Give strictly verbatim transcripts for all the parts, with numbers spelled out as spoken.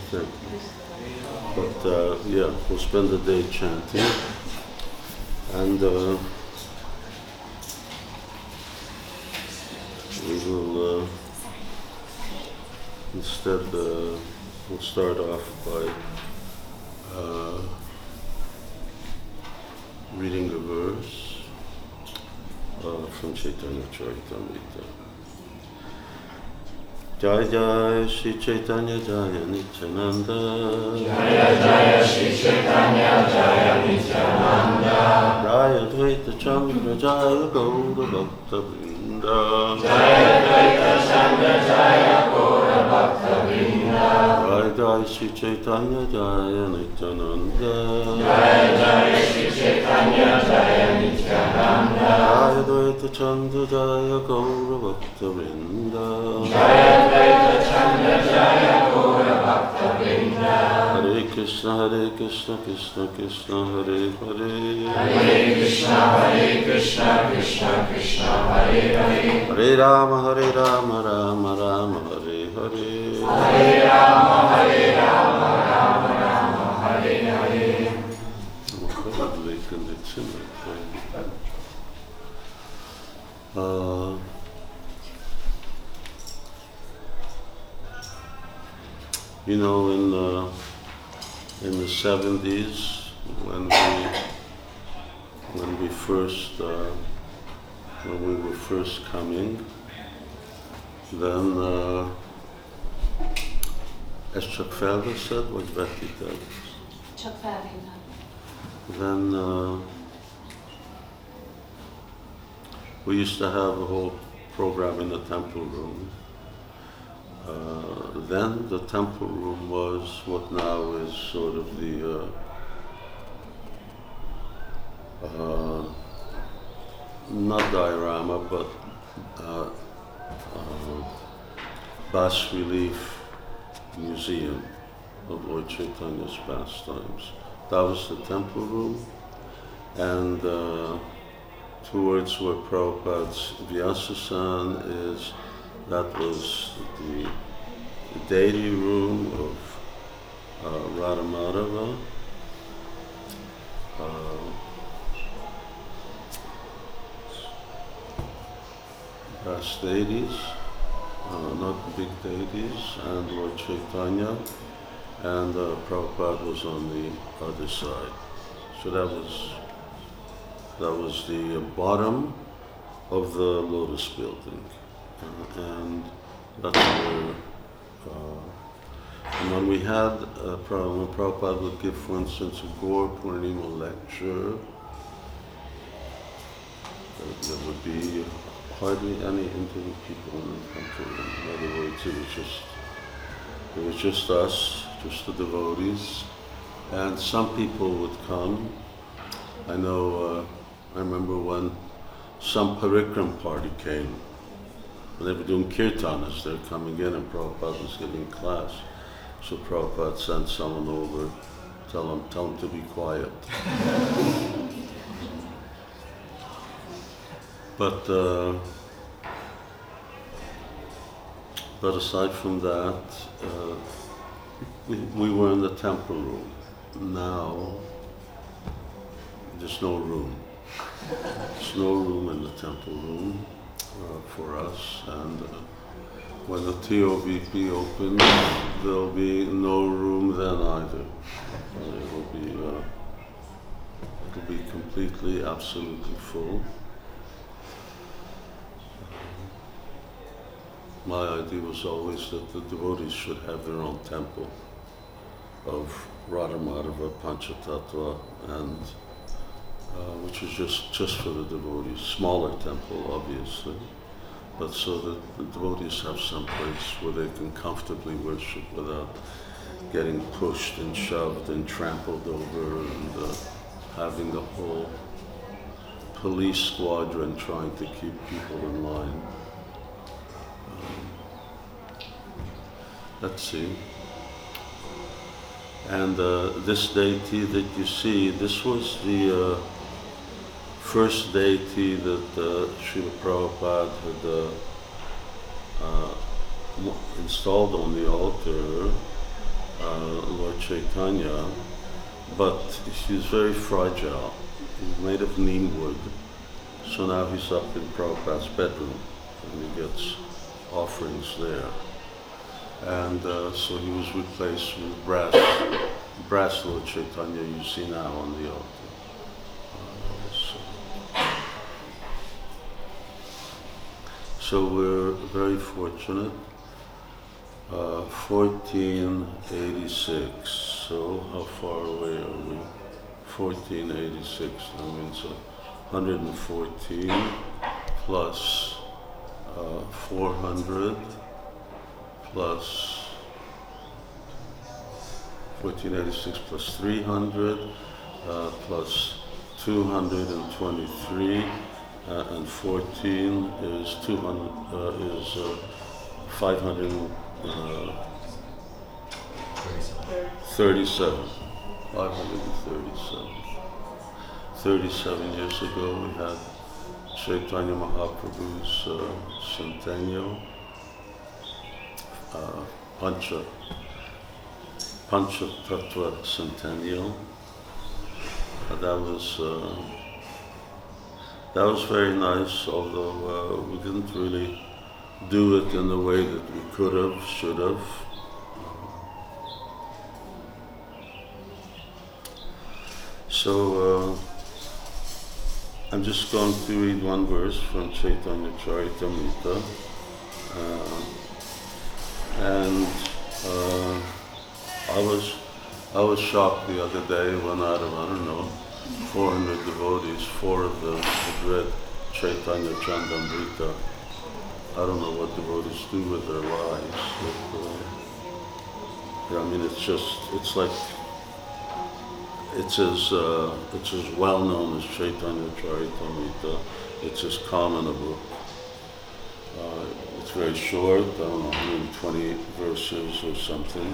Thank you. But uh, yeah, we'll spend the day chanting, and uh, we will uh, instead uh, we'll start off by uh, reading a verse uh, from Chaitanya Charitamrita. Jai Jai Shri Chaitanya Jaya Nityananda. Jaya Jaya Shri Chaitanya Jaya Nityananda. Jaya Dvaita Chandra Jaya Gaura Bhakta Vrinda. Jaya Dvaita Chandra Jaya Gaura Bhakta Vrinda. Jai Jai Shri Chaitanya Jaya Nityananda. Jaya Jaya Shri Chaitanya Jaya Nityananda. Jaya Dvaita Chandra Jaya Gaura Bhakta Vrinda. Jaya Dvaita Chandra Jaya Gaura Bhakta Vrinda. Hare Krishna Hare Krishna Krishna Krishna Hare Hare. Hare Krishna Hare Krishna Krishna Krishna Hare Hare. Hare Rama Hare Rama Rama Rama Hare Hare. Hare Rama Hare Rama Rama Rama Hare Hare. Uh, you know, in the in the seventies, when we when we first uh, when we were first coming, then uh, as Chuck Felder said, what Betty said, Csak felhívnám. then uh, we used to have a whole program in the temple room. Uh, then the temple room was what now is sort of the uh, uh, not diorama, but uh, uh, bas relief museum of Lord Chaitanya's pastimes. That was the temple room, and uh, towards where Prabhupada's Vyasasan is, that was the, the deity room of uh, Radha Madhava. Uh, past deities, uh, not big deities, and Lord Chaitanya, and uh, Prabhupada was on the other side. So that was that was the bottom of the Lotus building, uh, and that's where. Uh, and when we had, uh, when Prabhupada would give, for instance, a Gaur Purnima lecture, there, there would be hardly any Indian people in the temple. In other words, it was just it was just us, just the devotees, and some people would come. I know. Uh, I remember when some Parikram party came. When they were doing kirtanas, they were coming in, and Prabhupada was giving class. So Prabhupada sent someone over, tell him, tell him to be quiet. But uh, but aside from that, uh, we, we were in the temple room. Now there's no room. There's no room in the temple room uh, for us, and uh, when the T O V P opens, there'll be no room then either. Uh, it'll be uh, it'll be completely, absolutely full. My idea was always that the devotees should have their own temple of Radha Madhava, Panchatattva, and uh, which is just, just for the devotees. Smaller temple, obviously, but so that the devotees have some place where they can comfortably worship without getting pushed and shoved and trampled over, and uh, having a whole police squadron trying to keep people in line. Let's see. And uh, this deity that you see, this was the uh, first deity that uh, Srila Prabhupada had uh, uh, installed on the altar uh, Lord Chaitanya, but he's very fragile. He's made of neem wood, so now he's up in Prabhupada's bedroom, and he gets offerings there. And uh, so he was replaced with brass, brass Lord Chaitanya you see now on the altar. Uh, so, so we're very fortunate. Uh, fourteen eighty-six, so how far away are we? fourteen eighty-six, that means uh, one hundred fourteen plus uh, four hundred plus fourteen eighty-six plus three hundred uh, plus two hundred twenty-three uh, and fourteen is two hundred uh, is uh, five hundred uh, thirty-seven. five hundred thirty-seven. thirty-seven years ago we had Chaitanya Mahaprabhu's uh, centennial, uh, Pancha, Pancha Tattva centennial. Uh, that was uh, that was very nice, although uh, we didn't really do it in the way that we could have, should have. So uh, I'm just going to read one verse from Chaitanya Charitamrita, uh, and uh, I was I was shocked the other day when out of I don't know four hundred devotees, four of them had read Chaitanya Chandamrita. I don't know what devotees do with their lives, but uh, yeah, I mean it's just it's like. It's as uh, it's as well known as Chaitanya Charitamrita. It's as common a book. Uh, it's very short. I don't know, one hundred twenty verses or something.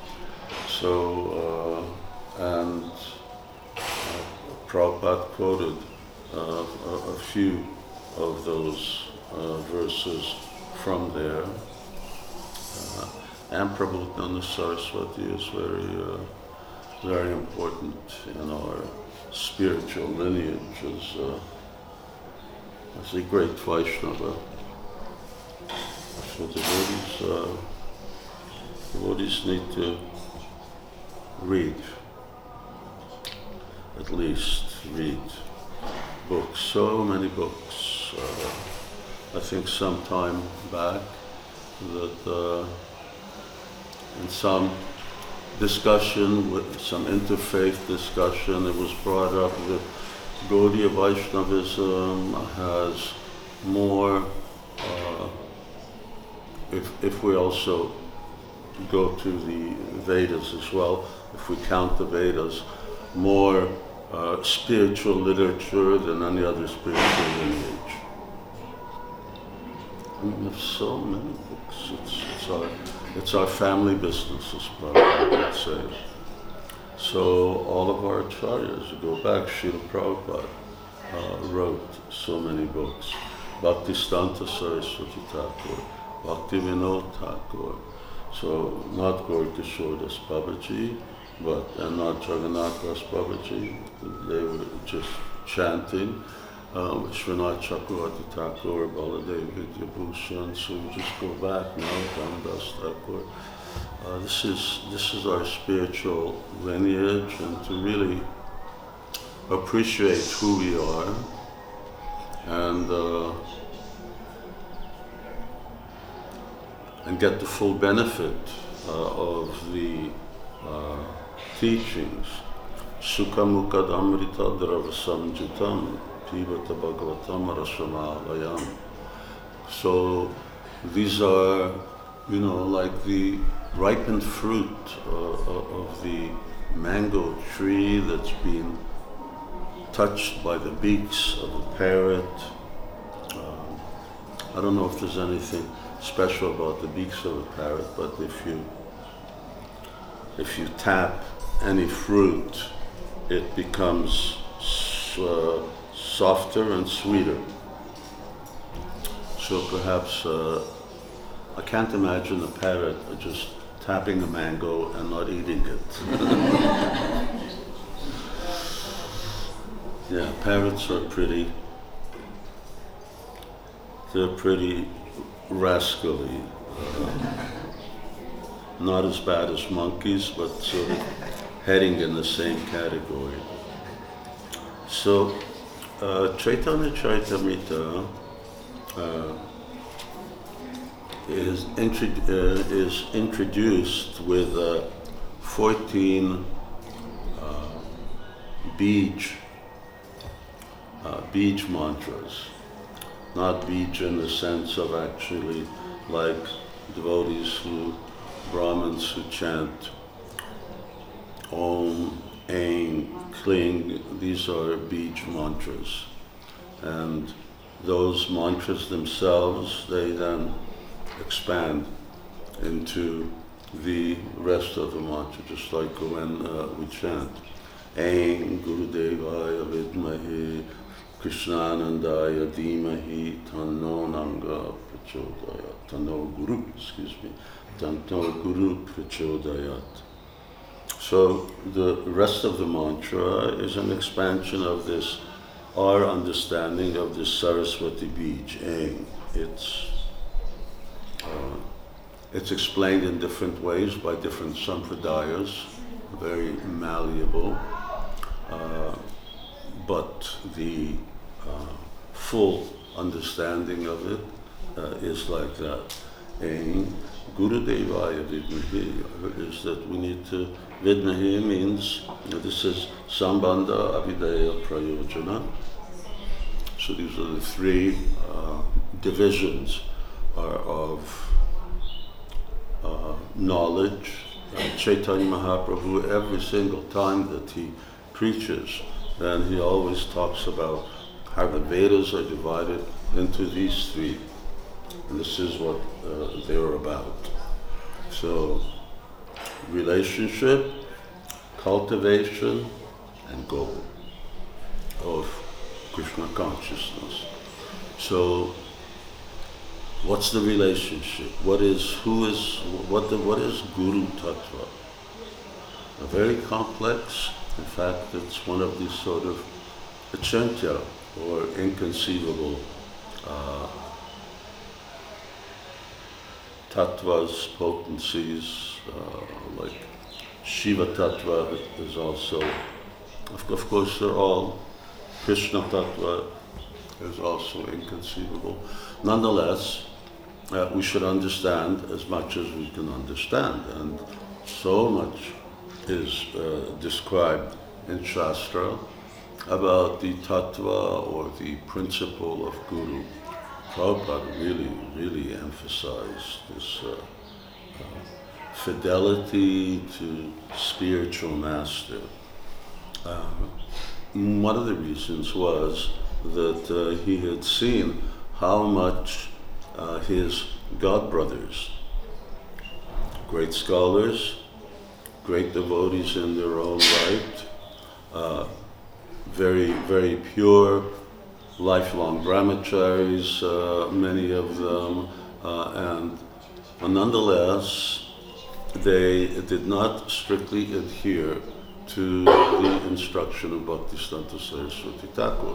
So uh, and uh, Prabhupada quoted uh, a, a few of those uh, verses from there. Uh, and Prabhupada Saraswati is very. Uh, very important in our spiritual lineage as, uh, as a great Vaishnava. So devotees, uh, devotees need to read, at least read books, so many books. Uh, I think some time back that uh, in some discussion, with some interfaith discussion, it was brought up that Gaudiya Vaishnavism has more, uh, if, if we also go to the Vedas as well, if we count the Vedas, more uh, spiritual literature than any other spiritual lineage. I mean, there's so many books. It's, it's our It's our family business, as Prabhupada would say. So all of our acharyas, you go back, Srila Prabhupada uh, wrote so many books. Bhaktisiddhanta Saraswati Thakur, Bhakti Vinod Thakur. So not Gaur Kishore Das Babaji, but and not Jagannath Das Babaji. They were just chanting. Um, Vishwanath Chakravarti Thakur, Baladev Vidyabhushan, so we just go back now, Ramdas Thakur. Uh, this is this is our spiritual lineage, and to really appreciate who we are, and uh, and get the full benefit uh, of the uh, teachings. Sukha Mukad Amrita Dravasam Jitam. So these are, you know, like the ripened fruit uh, of the mango tree that's been touched by the beaks of a parrot. Um, I don't know if there's anything special about the beaks of a parrot, but if you if you tap any fruit, it becomes uh, softer and sweeter. So perhaps, uh, I can't imagine a parrot just tapping a mango and not eating it. Yeah, parrots are pretty, they're pretty rascally. Uh, not as bad as monkeys, but sort of heading in the same category. So, uh, Chaitanya Charitamrita uh, is, intro- uh, is introduced with uh, fourteen uh, Bij, uh, Bij mantras. Not Bij in the sense of actually like devotees who, Brahmins who chant Om, Aim, Kling. These are Bij mantras. And those mantras themselves, they then expand into the rest of the mantra, just like when uh, we chant Aim Gurudevaya Vidmahi Krishnanandaya Dhimahi Tanno Nanga Prachodayat Tanno Guru, excuse me, Tanno Guru Prachodayat. So the rest of the mantra is an expansion of this, our understanding of this Saraswati Bij, Aim. It's uh, it's explained in different ways by different sampradayas, very malleable, uh, but the uh, full understanding of it uh, is like that. Aim Gurudevaya Vidmahi is that we need to, Vidmahi means, you know, this is Sambandha Abhidaya Prayojana. So these are the three uh, divisions are of uh, knowledge. Uh, Chaitanya Mahaprabhu, every single time that he preaches, then he always talks about how the Vedas are divided into these three. And this is what uh, they're about. So, relationship, cultivation, and goal of Krishna consciousness. So, what's the relationship? What is, who is, what the, what is Guru Tattva? A very complex, in fact, it's one of these sort of achintya, or inconceivable uh, tattvas, potencies, uh, like Shiva Tattva is also, of, of course they're all, Krishna Tattva is also inconceivable. Nonetheless, uh, we should understand as much as we can understand, and so much is uh, described in Shastra about the tattva or the principle of Guru. Prabhupada really, really emphasized this uh, uh, fidelity to spiritual master. Uh, one of the reasons was that uh, he had seen how much uh, his godbrothers, great scholars, great devotees in their own right, uh, very, very pure, lifelong brahmacharis, uh, many of them, uh, and uh, nonetheless, they did not strictly adhere to the instruction of Bhaktisiddhanta Saraswati Thakur.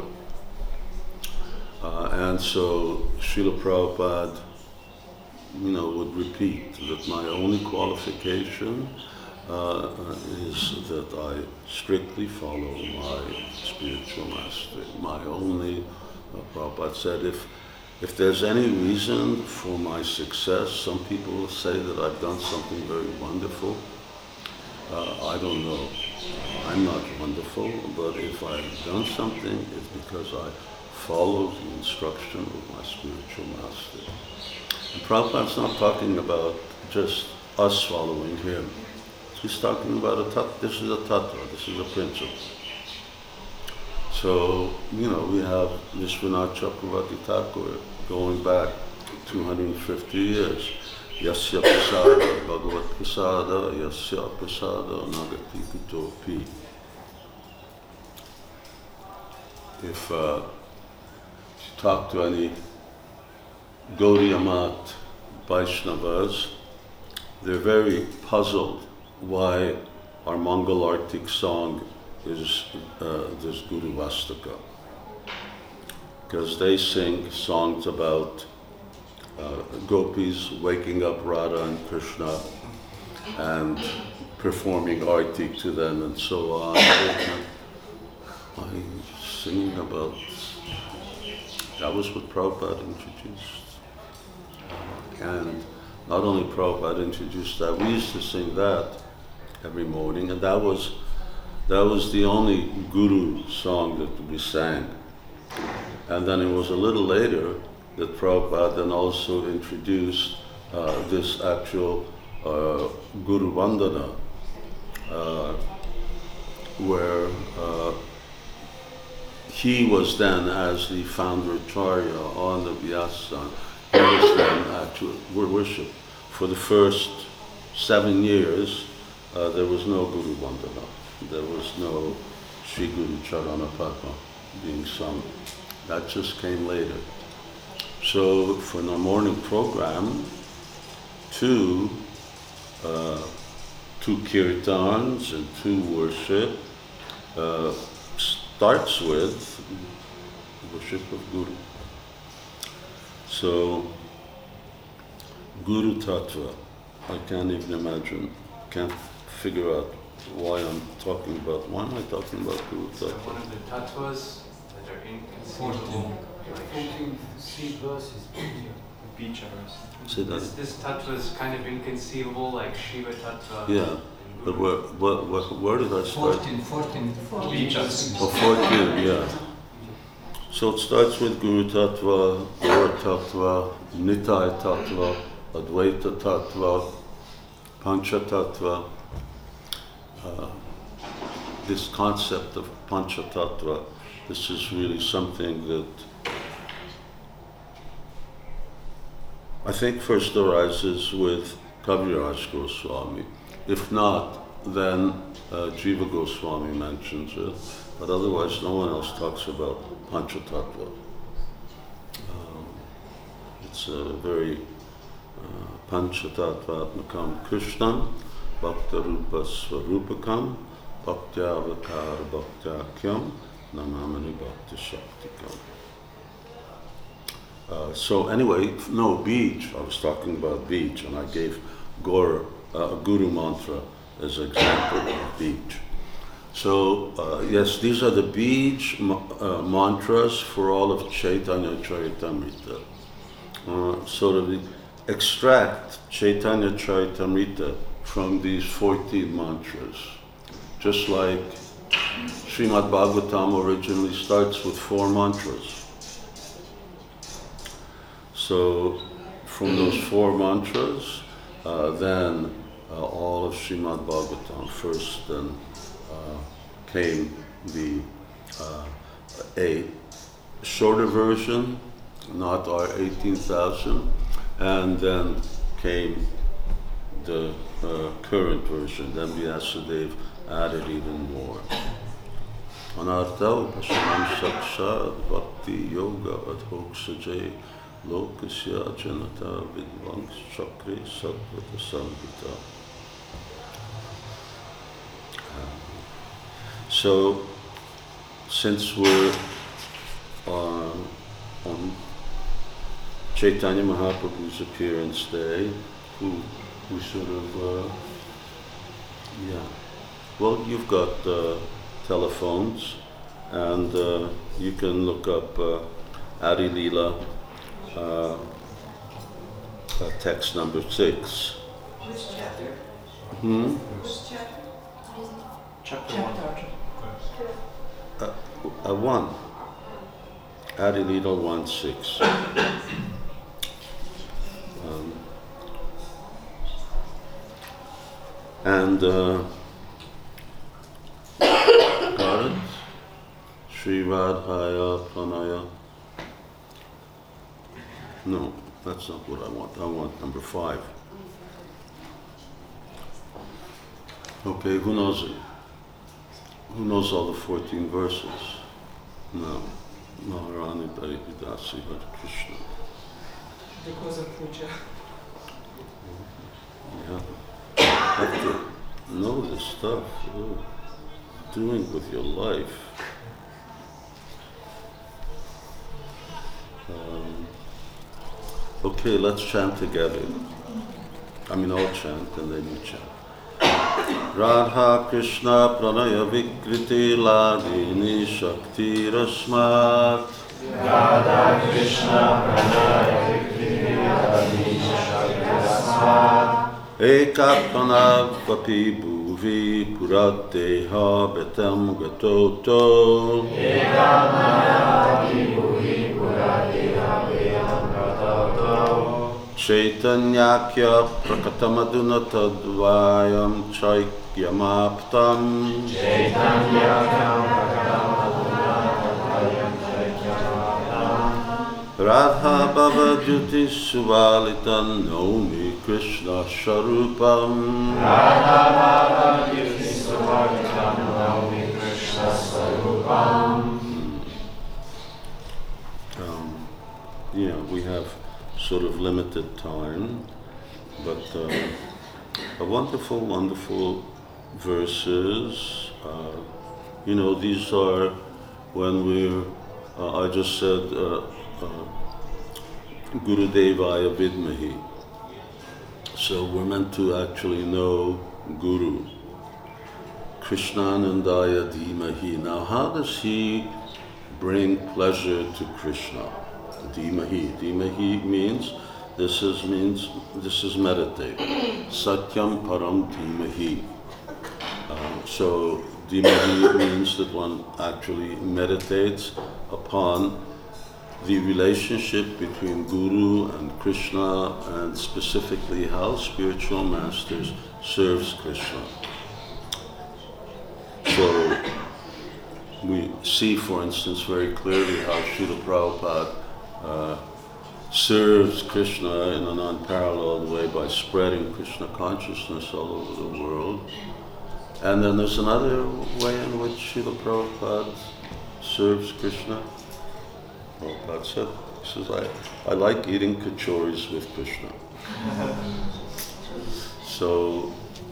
Uh, and so Srila Prabhupada, you know, would repeat that my only qualification uh, is that I strictly follow my spiritual master. My only, uh, Prabhupada said, if if there's any reason for my success, some people will say that I've done something very wonderful. Uh, I don't know. I'm not wonderful, but if I've done something, it's because I follow the instruction of my spiritual master. And Prabhupada's not talking about just us following him. He's talking about a tattva. This is a tattva, this is a principle. So, you know, we have Vishwanath Chakravarti Thakur going back two hundred fifty years. Yasya prasada bhagavat prasada, yasya prasada nagati kutopi. If uh, you talk to any Gaudiya Math Vaishnavas, they're very puzzled why our Mongol Arctic song is uh, this Guru Vastaka. Because they sing songs about uh, gopis waking up Radha and Krishna and performing arti to them and so on. I'm singing about, that was what Prabhupada introduced. And not only Prabhupada introduced that, we used to sing that every morning, and that was that was the only Guru song that we sang. And then it was a little later that Prabhupada then also introduced uh, this actual uh, Guru Vandana, uh, where uh, he was then, as the founder Acharya on the Vyasa, he was then actually worship. For the first seven years, uh, there was no Guru Vandana. There was no Sri Guru Charana Padma being sung. That just came later. So for the morning program, two, uh, two kirtans and two worship uh, starts with worship of Guru. So Guru Tattva, I can't even imagine, can't figure out why I'm talking about, why am I talking about Guru So Tattva? one of the tattvas that are inconceivable. fourteen, three verses. Vicharas. Say that. This, this tattva is kind of inconceivable, like Shiva tattva. Yeah, but where, where, where, where did I start? fourteen, fourteen. Vichas. Oh, fourteen, yeah. So it starts with Guru Tattva, Gaur Tattva, Nitai Tattva, Advaita Tattva, Pancha Tattva. Uh, this concept of Pancha Tattva, this is really something that I think first arises with Kaviraj Goswami. If not, then uh, Jiva Goswami mentions it, but otherwise no one else talks about Panchatattva. Um, it's a very uh, Panchatattva-atmakam Krishnam, Bhakta-rupa Svarupakam, Bhakti-avakar Bhakti-akyam, Namamani Bhakti-shaktikam. Uh, so anyway, no, beach, I was talking about beach, and I gave Gaur, uh, Guru Mantra as an example of beach. So uh, yes, these are the beach ma- uh, mantras for all of Chaitanya Charitamrita. Uh, so that we extract Chaitanya Charitamrita from these fourteen mantras. Just like Srimad Bhagavatam originally starts with four mantras. So from those four mantras, uh, then uh, all of Srimad Bhagavatam. First then uh, came the uh, a shorter version, not our eighteen thousand, and then came the uh, current version. Then Vyasadeva added even more. Anartha upashanam sakshad bhakti yoga adhoksajay lokasya janata vidvanks chakri satvata samhita. So, since we're uh, on Chaitanya Mahaprabhu's appearance day, who, who sort of, uh, yeah, well, you've got uh, telephones, and uh, you can look up uh, Adi Leela, uh, uh, text number six. Which chapter? Hmm? Which chapter? Chapter one. Uh, uh, one. Adi Leela one six. Um, and uh, got it? Sri Radhaya Pranaya. No, that's not what I want. I want number five. Okay, who knows it? Who knows all the fourteen verses? No. Maharani Daridasi Hare Krishna. Because of puja. Yeah. have to know this stuff. Oh, doing with your life. Um, okay, let's chant together. I mean, all chant and then you chant. Radha Krishna Pranaya Vikriti Ladini Shakti Rasmat. Radha Krishna Pranaya Vikriti Ladini Shakti Rasmat. Ekatmanav Vapi Bhuvi Purateha Betam Gatoto. Ekatmanav Vapi Bhuvi Purateha Betam Gatoto. Chaitanyakya Prakatamaduna Tadvayam Chaikyamaptam. Chaitanyakya Prakatamaduna Tadvayam Chaikyamaptam. Radha Bhava Jyoti Suvalitan Naumi Krishna Sharupam. Radha Bhava Jyoti Suvalitan Naumi Krishna Swarupam. Um, yeah, we have sort of limited time, but uh, a wonderful, wonderful verses. Uh, you know, these are when we're, uh, I just said, uh, uh, Guru Devaya Vidmahi. So we're meant to actually know Guru. Krishnanandaya Dhimahi. Now, how does he bring pleasure to Krishna? Dhimahi. Dhimahi means this is means this is meditate. Satyam Param Dhimahi. Uh, so Dhimahi means that one actually meditates upon the relationship between Guru and Krishna, and specifically how spiritual masters serves Krishna. So we see, for instance, very clearly how Srila Prabhupada Uh, serves Krishna in an unparalleled way by spreading Krishna consciousness all over the world. And then there's another way in which Srila Prabhupada serves Krishna. Prabhupada said, he says, I, I like eating kachoris with Krishna. So,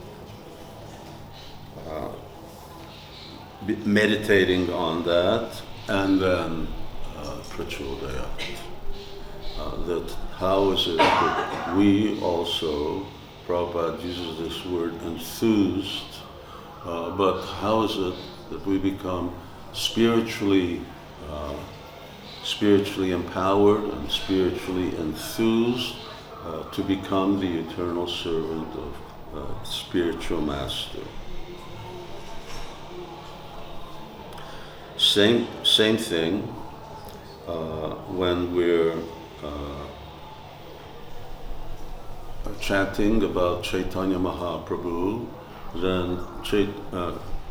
uh, meditating on that, and then uh, prachodaya. Uh, that how is it that we also, Prabhupada uses this word enthused, uh, but how is it that we become spiritually uh, spiritually empowered and spiritually enthused uh, to become the eternal servant of uh, spiritual master? Same, same thing uh, when we're Uh, chanting about Chaitanya Mahaprabhu, then Chait, uh,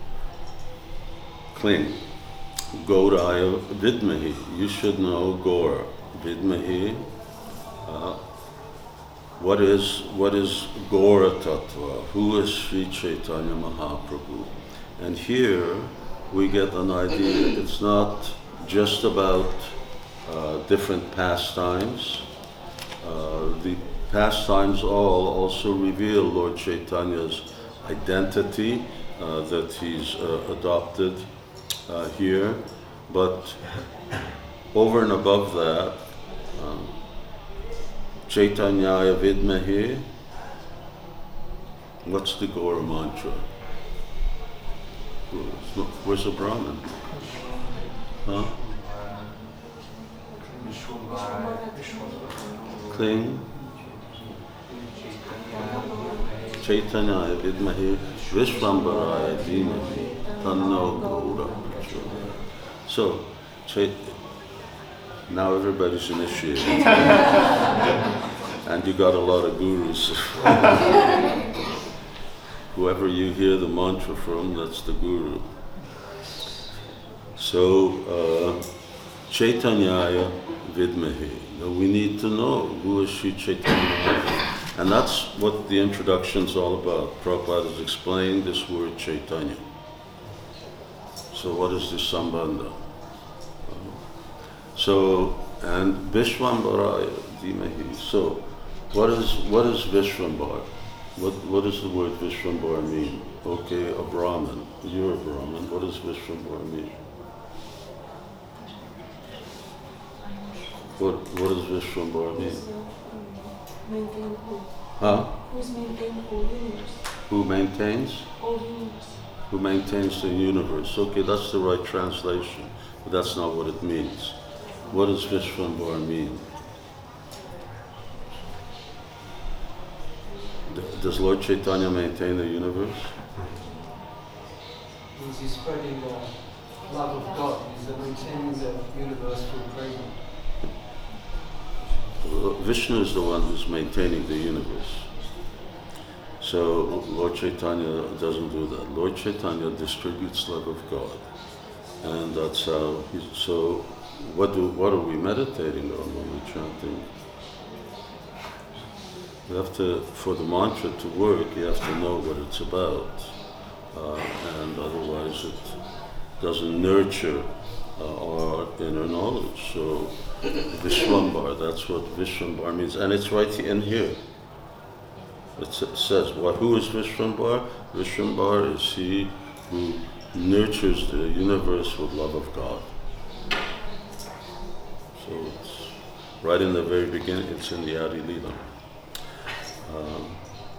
cling. Gauraya Vidmahi. You should know Gaur. Vidmahi. Uh, what is what is Gaura Tattva? Who is Sri Chaitanya Mahaprabhu? And here we get an idea. It's not just about Uh, different pastimes. Uh, the pastimes all also reveal Lord Chaitanya's identity uh, that he's uh, adopted uh, here. But over and above that, um, Chaitanyaya Vidmahi, what's the Gaura mantra? Where's the Brahmin? Huh? Cling. Chaitanya Vidmahi Vishvambaraya Dhimahi Tanno Gaura Prachodayat. So, Chait- now everybody's initiated. And you got a lot of gurus. Whoever you hear the mantra from, that's the guru. So, uh, Chaitanyaya Vidmahi. We need to know who is Sri Chaitanya. And that's what the introduction is all about. Prabhupada has explained this word Chaitanya. So what is this Sambandha? So, and Vishvambaraya Dhimahi. So, what is what is Vishvambar? What, what does the word Vishwambara mean? Okay, a Brahmin. You're a Brahmin. What does Vishwambara mean? What, what does Vishwambara mean? Maintain who? Huh? Who's maintaining whole universe? Who maintains? Whole universe. Who maintains the universe. Okay, that's the right translation, but that's not what it means. What does Vishwambara mean? D- Does Lord Chaitanya maintain the universe? Means he's spreading the love of God. He's maintaining the universe through prema. Uh, Vishnu is the one who's maintaining the universe. So Lord Chaitanya doesn't do that. Lord Chaitanya distributes love of God. And that's how he's, so what do what are we meditating on when we're chanting? You have to, for the mantra to work, you have to know what it's about. Uh, and otherwise it doesn't nurture uh, our inner knowledge. So Vishwambar, that's what Vishwambar means. And it's right in here. It s- says, well, who is Vishwambar? Vishwambar is he who nurtures the universe with love of God. So it's right in the very beginning, it's in the Adi Lila. Um,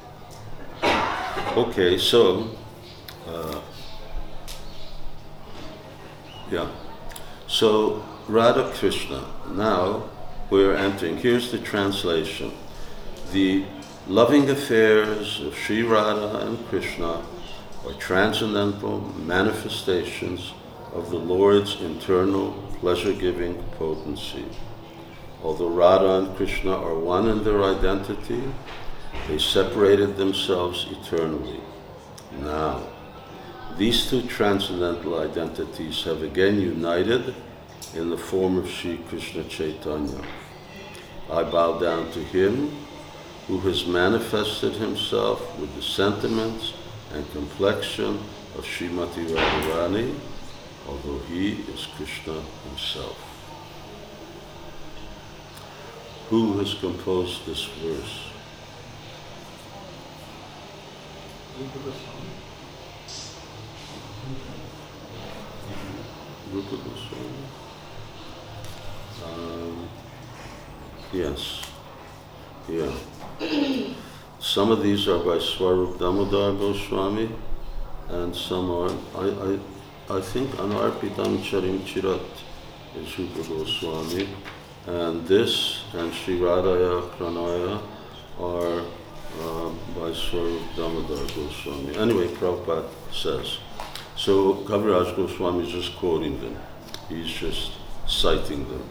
okay, so, uh, yeah. So, Radha Krishna, now we're entering, here's the translation. The loving affairs of Sri Radha and Krishna are transcendental manifestations of the Lord's internal pleasure-giving potency. Although Radha and Krishna are one in their identity, they separated themselves eternally. Now, these two transcendental identities have again united in the form of Sri Krishna Chaitanya. I bow down to him who has manifested himself with the sentiments and complexion of Srimati Radharani, although he is Krishna himself. Who has composed this verse? Rupa Goswami? Um, yes. Yeah. Some of these are by Swarup Damodar Goswami, and some are, I, I, I think Anarpitam Charim Chirat is Rupa Goswami, and this and Sri Radhaya Pranaya are uh, by Swarup Damodar Goswami. Anyway, Prabhupada says. So Kaviraj Goswami is just quoting them. He's just citing them.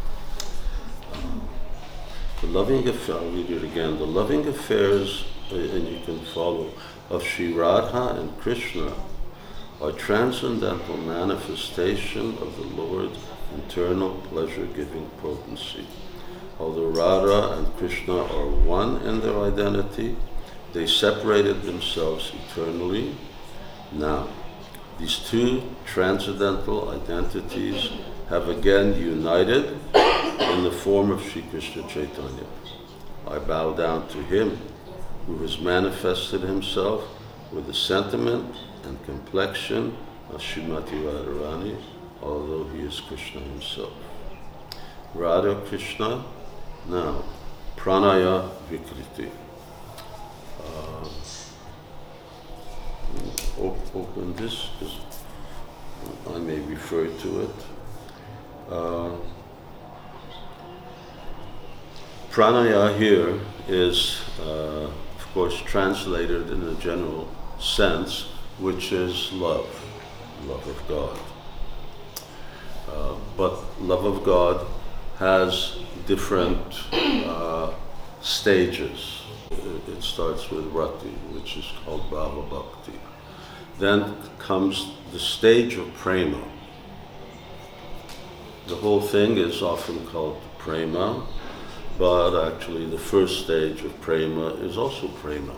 The loving affairs, I'll read it again. The loving affairs, uh, and you can follow, of Sri Radha and Krishna are transcendental manifestation of the Lord's internal pleasure-giving potency. Although Radha and Krishna are one in their identity, they separated themselves eternally. Now, these two transcendental identities have again united in the form of Sri Krishna Chaitanya. I bow down to him who has manifested himself with the sentiment and complexion of Srimati Radharani, although he is Krishna himself. Radha Krishna, now, Pranaya Vikriti. Uh, op- open this, because I may refer to it. Uh, pranaya here is, uh, of course, translated in a general sense, which is love, love of God. Uh, but love of God has different uh, stages. It, it starts with rati, which is called bhava bhakti. Then comes the stage of prema. The whole thing is often called prema, but actually the first stage of prema is also prema.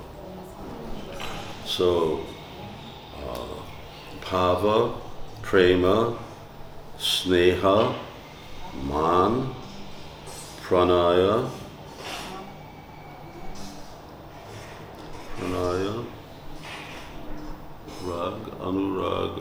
So, uh, bhava, prema, sneha, man, pranaya, Pranaya, Rag, Anurag,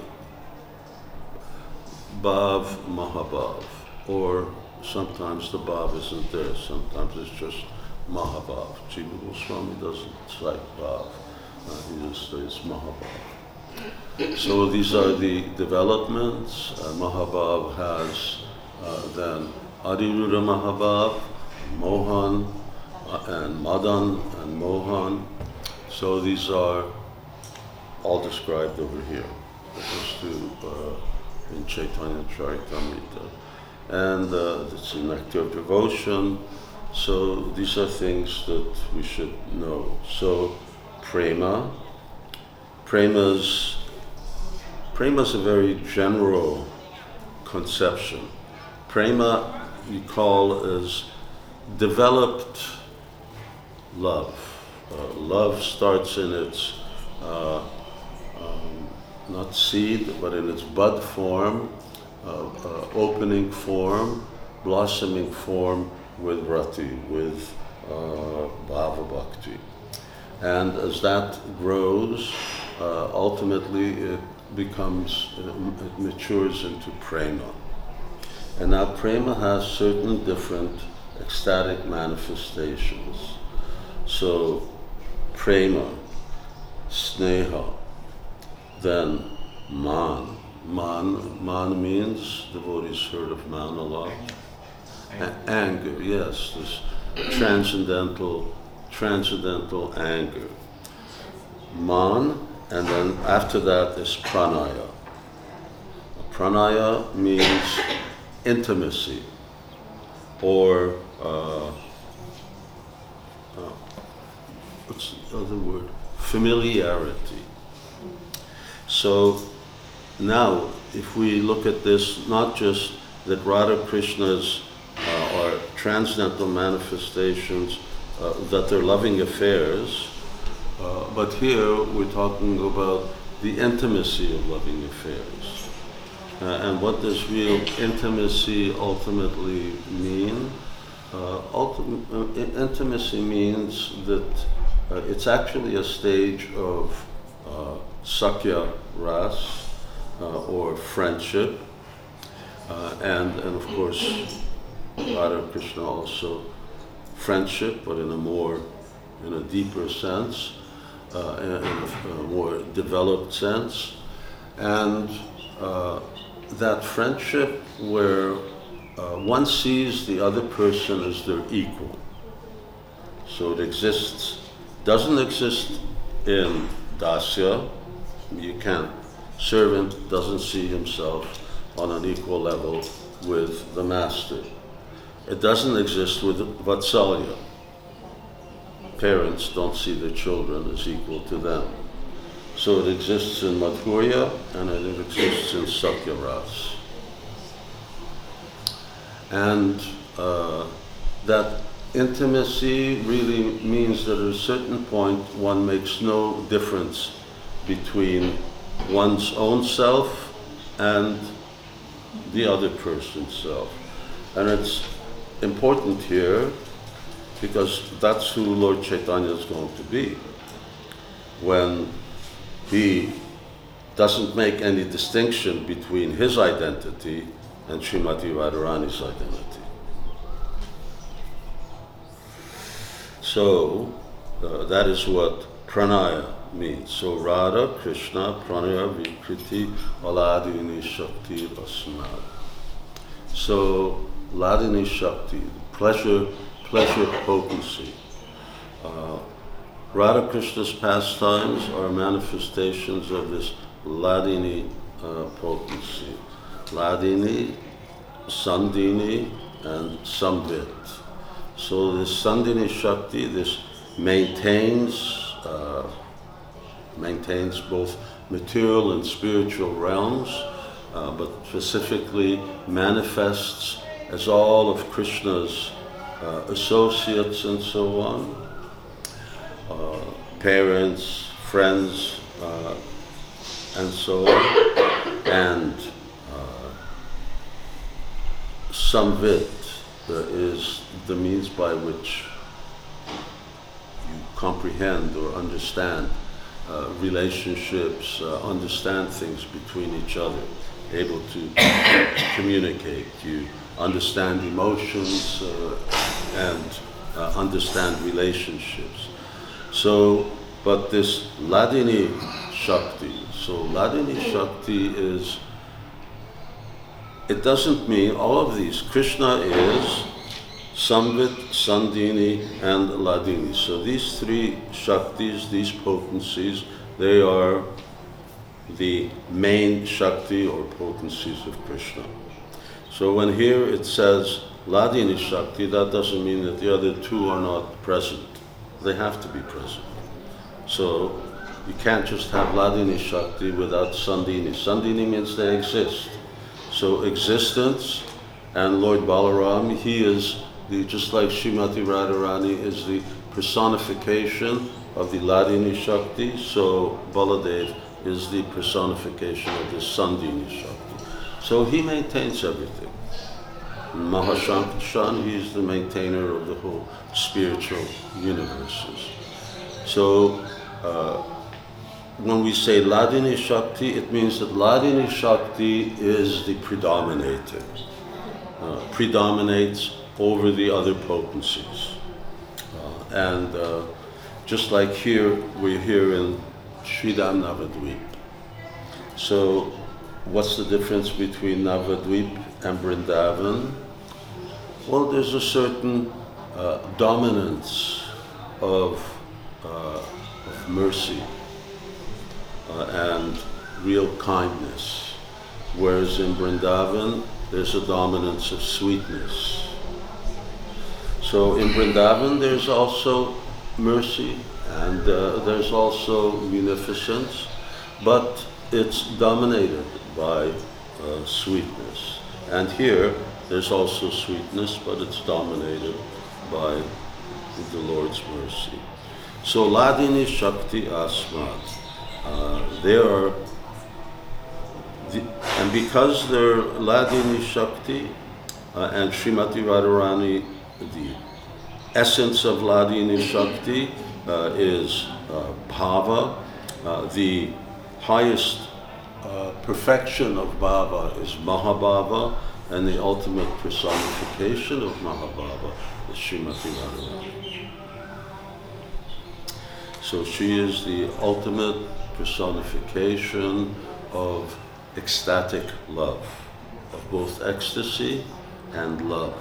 Bhav, Mahabhav. Or sometimes the Bhav isn't there, sometimes it's just Mahabhav. Jiva Goswami doesn't cite Bhav, uh, he just says Mahabhav. So these are the developments. Uh, Mahabhav has uh, then Adiruddha Mahabhav, Mohan, uh, and Madan and Mohan. So these are all described over here. Just to, uh, in Chaitanya Charitamrita. And uh, it's a nectar of devotion. So these are things that we should know. So prema, prema's, prema's a very general conception. Prema we call as developed love. Uh, love starts in its uh, um, not seed, but in its bud form, uh, uh, opening form, blossoming form with rati, with uh, bhava bhakti. And as that grows, uh, ultimately it becomes, it matures into prema. And now prema has certain different ecstatic manifestations. So prema, sneha, then man. Man, man means, devotees heard of man a lot. A- anger, yes, this transcendental, transcendental anger. Man, and then after that is pranaya. Pranaya means intimacy, or uh, uh, what's the other word? Familiarity. So now, if we look at this, not just that Radha Krishna's uh, are transcendental manifestations, uh, that they're loving affairs, uh, but here we're talking about the intimacy of loving affairs. Uh, and what does real intimacy ultimately mean? Uh, ultim- uh, intimacy means that uh, it's actually a stage of uh, sakya ras, uh, or friendship, uh, and, and of course Radha and Krishna also friendship, but in a more, in a deeper sense, uh, in a, a more developed sense. And uh, that friendship where uh, one sees the other person as their equal. So it exists, doesn't exist in dasya. You can't, servant doesn't see himself on an equal level with the master. It doesn't exist with vatsalya. Parents don't see their children as equal to them. So it exists in madhurya and it exists in sakya ras. And uh, that intimacy really means that at a certain point one makes no difference between one's own self and the other person's self. And it's important here because that's who Lord Chaitanya is going to be when he doesn't make any distinction between his identity and Srimati Radharani's identity. So uh, that is what pranaya means. So Radha, Krishna, pranaya, vikriti, aladini shakti asmad. So Ladini Shakti, pleasure, pleasure potency. Uh, Radha Krishna's pastimes are manifestations of this Ladini uh, potency. Ladini, Sandini, and Samvit. So this Sandini Shakti, this maintains, uh, maintains both material and spiritual realms, uh, but specifically manifests as all of Krishna's uh, associates and so on, uh, parents, friends, uh, and so on, and uh, Samvit uh, is the means by which you comprehend or understand uh, relationships, uh, understand things between each other, able to communicate. You understand emotions uh, and uh, understand relationships. So, but this Hladini Shakti, so Hladini Shakti is, it doesn't mean all of these. Krishna is Samvit, Sandhini, and Hladini. So these three Shaktis, these potencies, they are the main Shakti or potencies of Krishna. So when here it says Hladini Shakti, that doesn't mean that the other two are not present. They have to be present. So you can't just have Hladini Shakti without Sandhini. Sandhini means they exist. So existence, and Lord Balaram, he is the, just like Srimati Radharani is the personification of the Hladini Shakti, so Baladev is the personification of the Sandhini Shakti. So he maintains everything. Mahashankharshan, he is the maintainer of the whole spiritual universes. So uh, when we say Hladini Shakti, it means that Hladini Shakti is the predominator, uh, predominates over the other potencies. Uh, and uh, just like here, we're here in Sridham Navadvip. So what's the difference between Navadvip and Vrindavan? Well, there's a certain uh, dominance of, uh, of mercy uh, and real kindness, whereas in Vrindavan, there's a dominance of sweetness. So in Vrindavan, there's also mercy and uh, there's also munificence, but it's dominated by uh, sweetness. And here, there's also sweetness, but it's dominated by the Lord's mercy. So Hladini Shakti Asmat, uh, they are, the, and because they're Hladini Shakti uh, and Srimati Radharani, the essence of Hladini Shakti uh, is uh, bhava. Uh, the highest uh, perfection of bhava is Mahabhava, and the ultimate personification of Mahabhava is Srimati Radharani. So she is the ultimate personification of ecstatic love, of both ecstasy and love,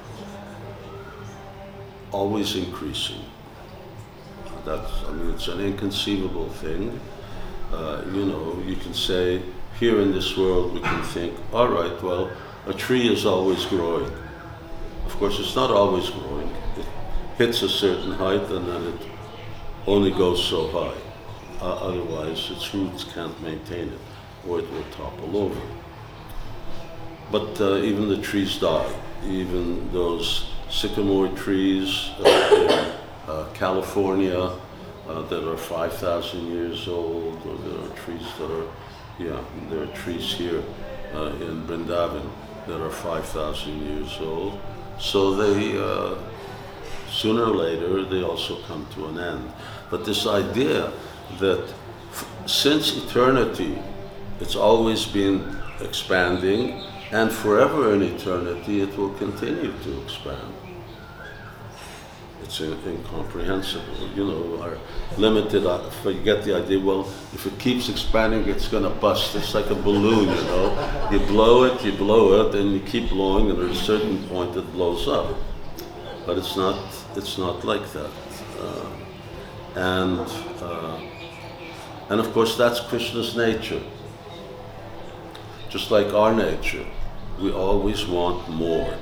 always increasing. That's, I mean, it's an inconceivable thing. Uh, you know, you can say, here in this world we can think, all right, well, a tree is always growing. Of course, it's not always growing. It hits a certain height and then it only goes so high. Uh, otherwise, its roots can't maintain it, or it will topple over. But uh, even the trees die. Even those sycamore trees uh, in uh, California uh, that are five thousand years old, or there are trees that are, yeah, there are trees here uh, in Vrindavan that are five thousand years old. So they, uh, sooner or later, they also come to an end. But this idea that f- since eternity, it's always been expanding, and forever in eternity, it will continue to expand. It's in- incomprehensible. You know, our limited, uh, if you get the idea, well, if it keeps expanding, it's going to bust. It's like a balloon, you know. You blow it, you blow it, and you keep blowing, and at a certain point it blows up. But it's not, it's not like that. Uh, and, uh, and of course, that's Krishna's nature. Just like our nature, we always want more.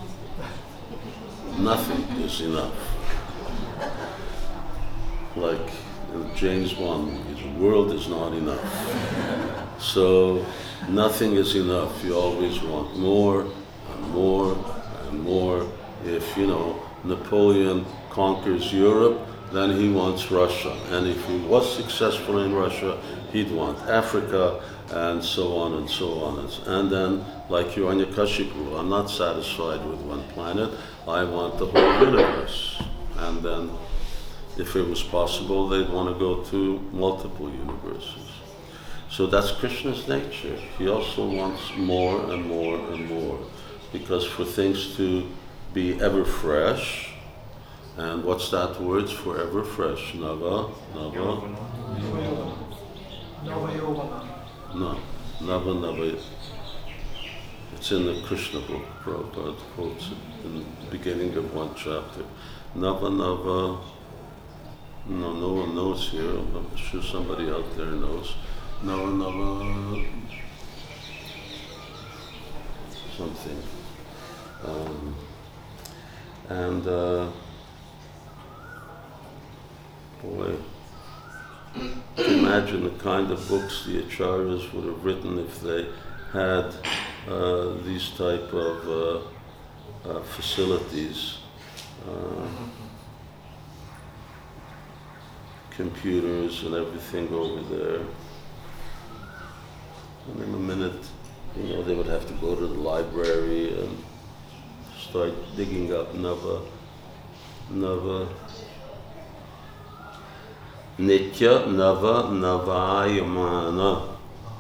Nothing is enough. Like in James Bond movies, the world is not enough. So nothing is enough. You always want more and more and more. If, you know, Napoleon conquers Europe, then he wants Russia. And if he was successful in Russia, he'd want Africa, and so on and so on. And then, like Hiranyakashipu, I'm not satisfied with one planet, I want the whole universe. And then if it was possible, they'd want to go to multiple universes. So that's Krishna's nature. He also wants more and more and more, because for things to be ever fresh, and what's that word for ever fresh? Nava, Nava, Navayogana. no, Nava, Nava. It's in the Krishna book, Prabhupada quotes it in the beginning of one chapter. Nava, Nava, no, no one knows here, I'm sure somebody out there knows. Nava, Nava, something. Um, and, uh, boy, imagine the kind of books the acharyas would have written if they had uh, these type of uh, uh, facilities, uh, computers and everything over there. And in a minute, you know, they would have to go to the library and start digging up Nava, Nava, Nitya, Nava, Navayamana.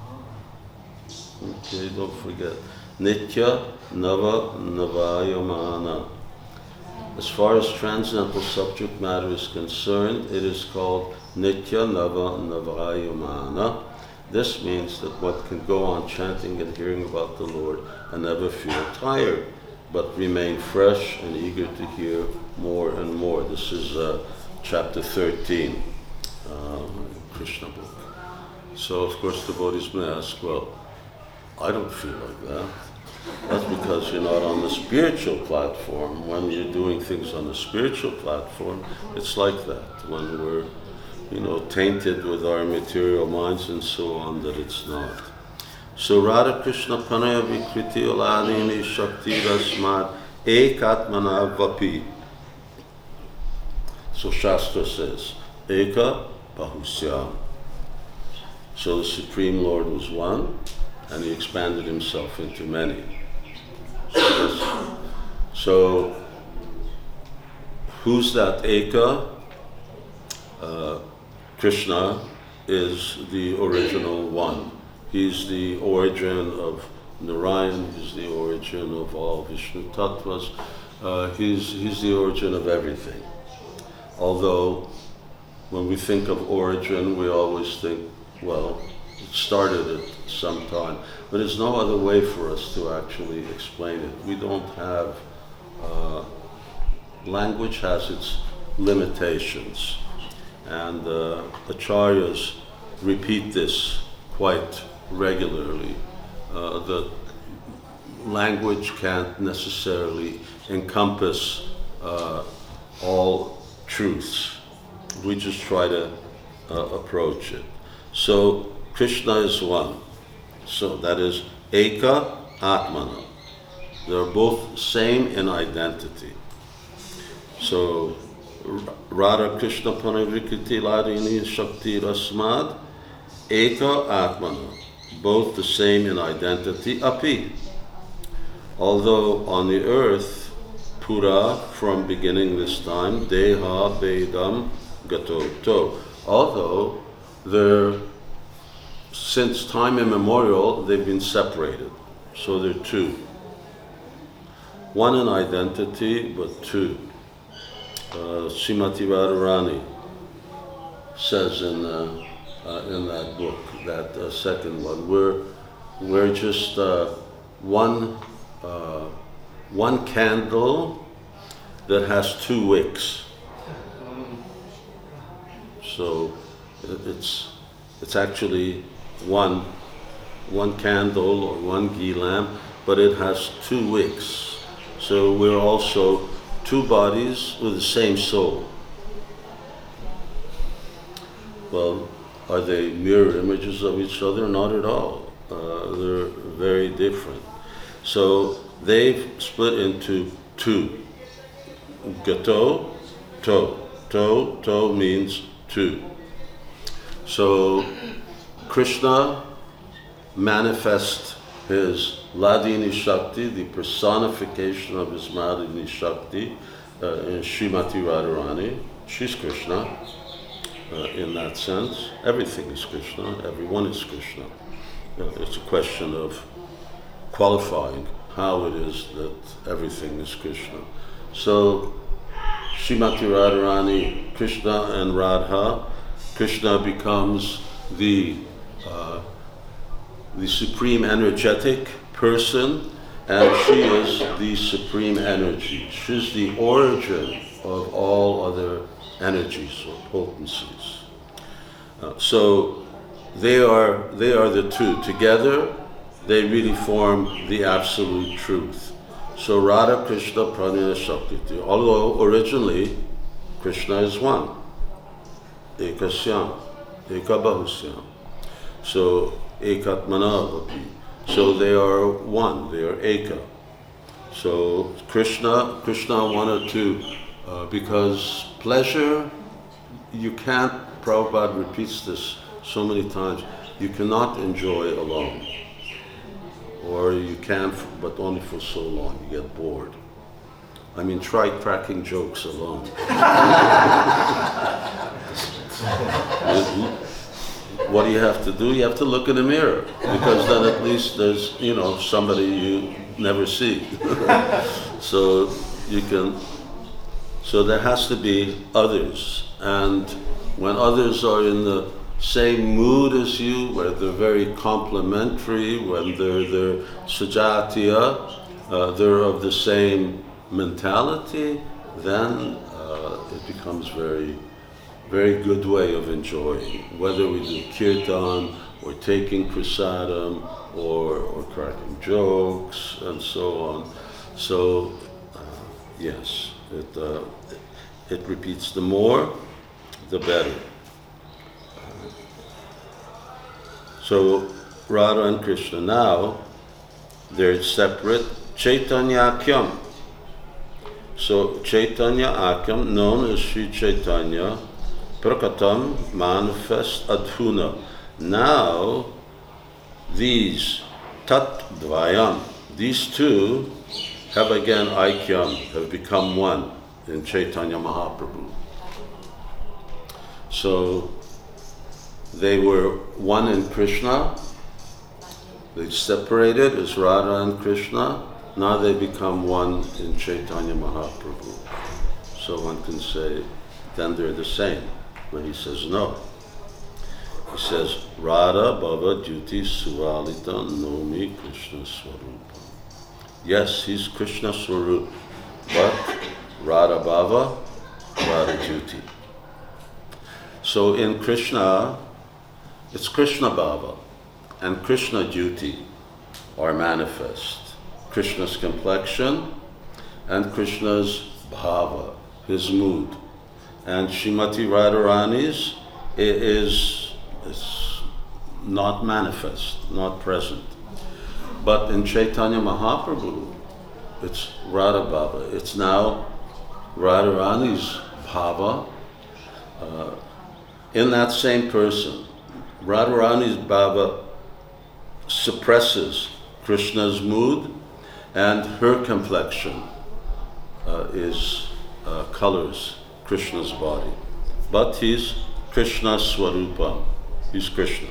Okay, don't forget. Nitya, Nava, Navayamana. As far as transcendental subject matter is concerned, it is called Nitya, Nava, Navayamana. This means that one can go on chanting and hearing about the Lord and never feel tired, but remain fresh and eager to hear more and more. This is uh, chapter thirteen, um, Krishna book. So of course devotees may ask, well, I don't feel like that. That's because you're not on the spiritual platform. When you're doing things on the spiritual platform, it's like that. When we're, you know, tainted with our material minds and so on, that it's not. So Radha Krishna Panaya Vikriti Oladini Shakti Rasmad Ekatmana Vapi. So Shastra says, Eka Bahusyam. So the Supreme Lord was one, and he expanded himself into many. So, this, so who's that Eka? Uh, Krishna is the original one. He's the origin of Narayan, he's the origin of all Vishnu Tattvas, uh, he's, he's the origin of everything. Although, when we think of origin, we always think, well, it started at some time. But there's no other way for us to actually explain it. We don't have, uh, language has its limitations. And uh, acharyas repeat this quite regularly, uh, that language can't necessarily encompass uh, all truths. We just try to uh, approach it. So Krishna is one. So that is Eka Atmana. They're both same in identity. So Radha Krishna Panavikriti Ladini Shakti Rasmad Eka Atmana. Both the same in identity, api. Although on the earth, Pura, from beginning this time, Deha Bedam Gato To. Although they're, since time immemorial, they've been separated. So they're two. One in identity, but two. Uh, Srimati Radharani says in uh, uh, in that book, that uh, second one, we're we're just uh, one uh, one candle that has two wicks. So it's it's actually one one candle or one ghee lamp, but it has two wicks. So we're also two bodies with the same soul. Well, are they mirror images of each other? Not at all. Uh, they're very different. So they've split into two. Gato, to. To, to means two. So Krishna manifests his Ladini Shakti, the personification of his Ladini Shakti, uh, in Srimati Radharani, she's Krishna uh, in that sense. Everything is Krishna, everyone is Krishna. Uh, it's a question of qualifying how it is that everything is Krishna. So, Srimati Radharani, Krishna and Radha, Krishna becomes the uh, the supreme energetic person, and she is the supreme energy. She's the origin of all other energies or potencies. Uh, so they are they are the two together. They really form the absolute truth. So Radha Krishna Pranaya Shakti, although originally Krishna is one, Ekasyam, Ekabahusyam. So Ekatmana Vapi. So they are one, they are Eka. So Krishna, Krishna wanted to, uh, because pleasure, you can't, Prabhupada repeats this so many times, you cannot enjoy alone. Or you can, but only for so long, you get bored. I mean, try cracking jokes alone. What do you have to do? You have to look in the mirror, because then at least there's, you know, somebody you never see. So you can, so there has to be others. And when others are in the same mood as you, where they're very complementary, when they're, they're sajatiya, uh, they're of the same mentality, then uh, it becomes very, very good way of enjoying. Whether we do kirtan, or taking prasadam, or, or cracking jokes, and so on. So, uh, yes, it, uh, it repeats the more, the better. So Radha and Krishna now, they're separate. Chaitanya Akyam. So Chaitanya Akyam, known as Sri Chaitanya, Prakatam, manifest adhuna. Now, these Tat Dvayam, these two have again Aikyam, have become one in Chaitanya Mahaprabhu. So, they were one in Krishna, they separated as Radha and Krishna, now they become one in Chaitanya Mahaprabhu. So one can say, then they're the same. But he says no. He says, Radha Bhava Jyoti Suvalita Nomi Krishna Swarupa. Yes, he's Krishna Swarup, but Radha Bhava, Radha Jyoti. So in Krishna, it's Krishna Bhava and Krishna Jyoti are manifest. Krishna's complexion and Krishna's bhava, his mood. And Srimati Radharani's is, is not manifest, not present. But in Chaitanya Mahaprabhu, it's Radha Bhava. It's now Radharani's bhava uh, in that same person. Radharani's bhava suppresses Krishna's mood, and her complexion uh, is uh, colors Krishna's body. But he's Krishna Swarupa. He's Krishna.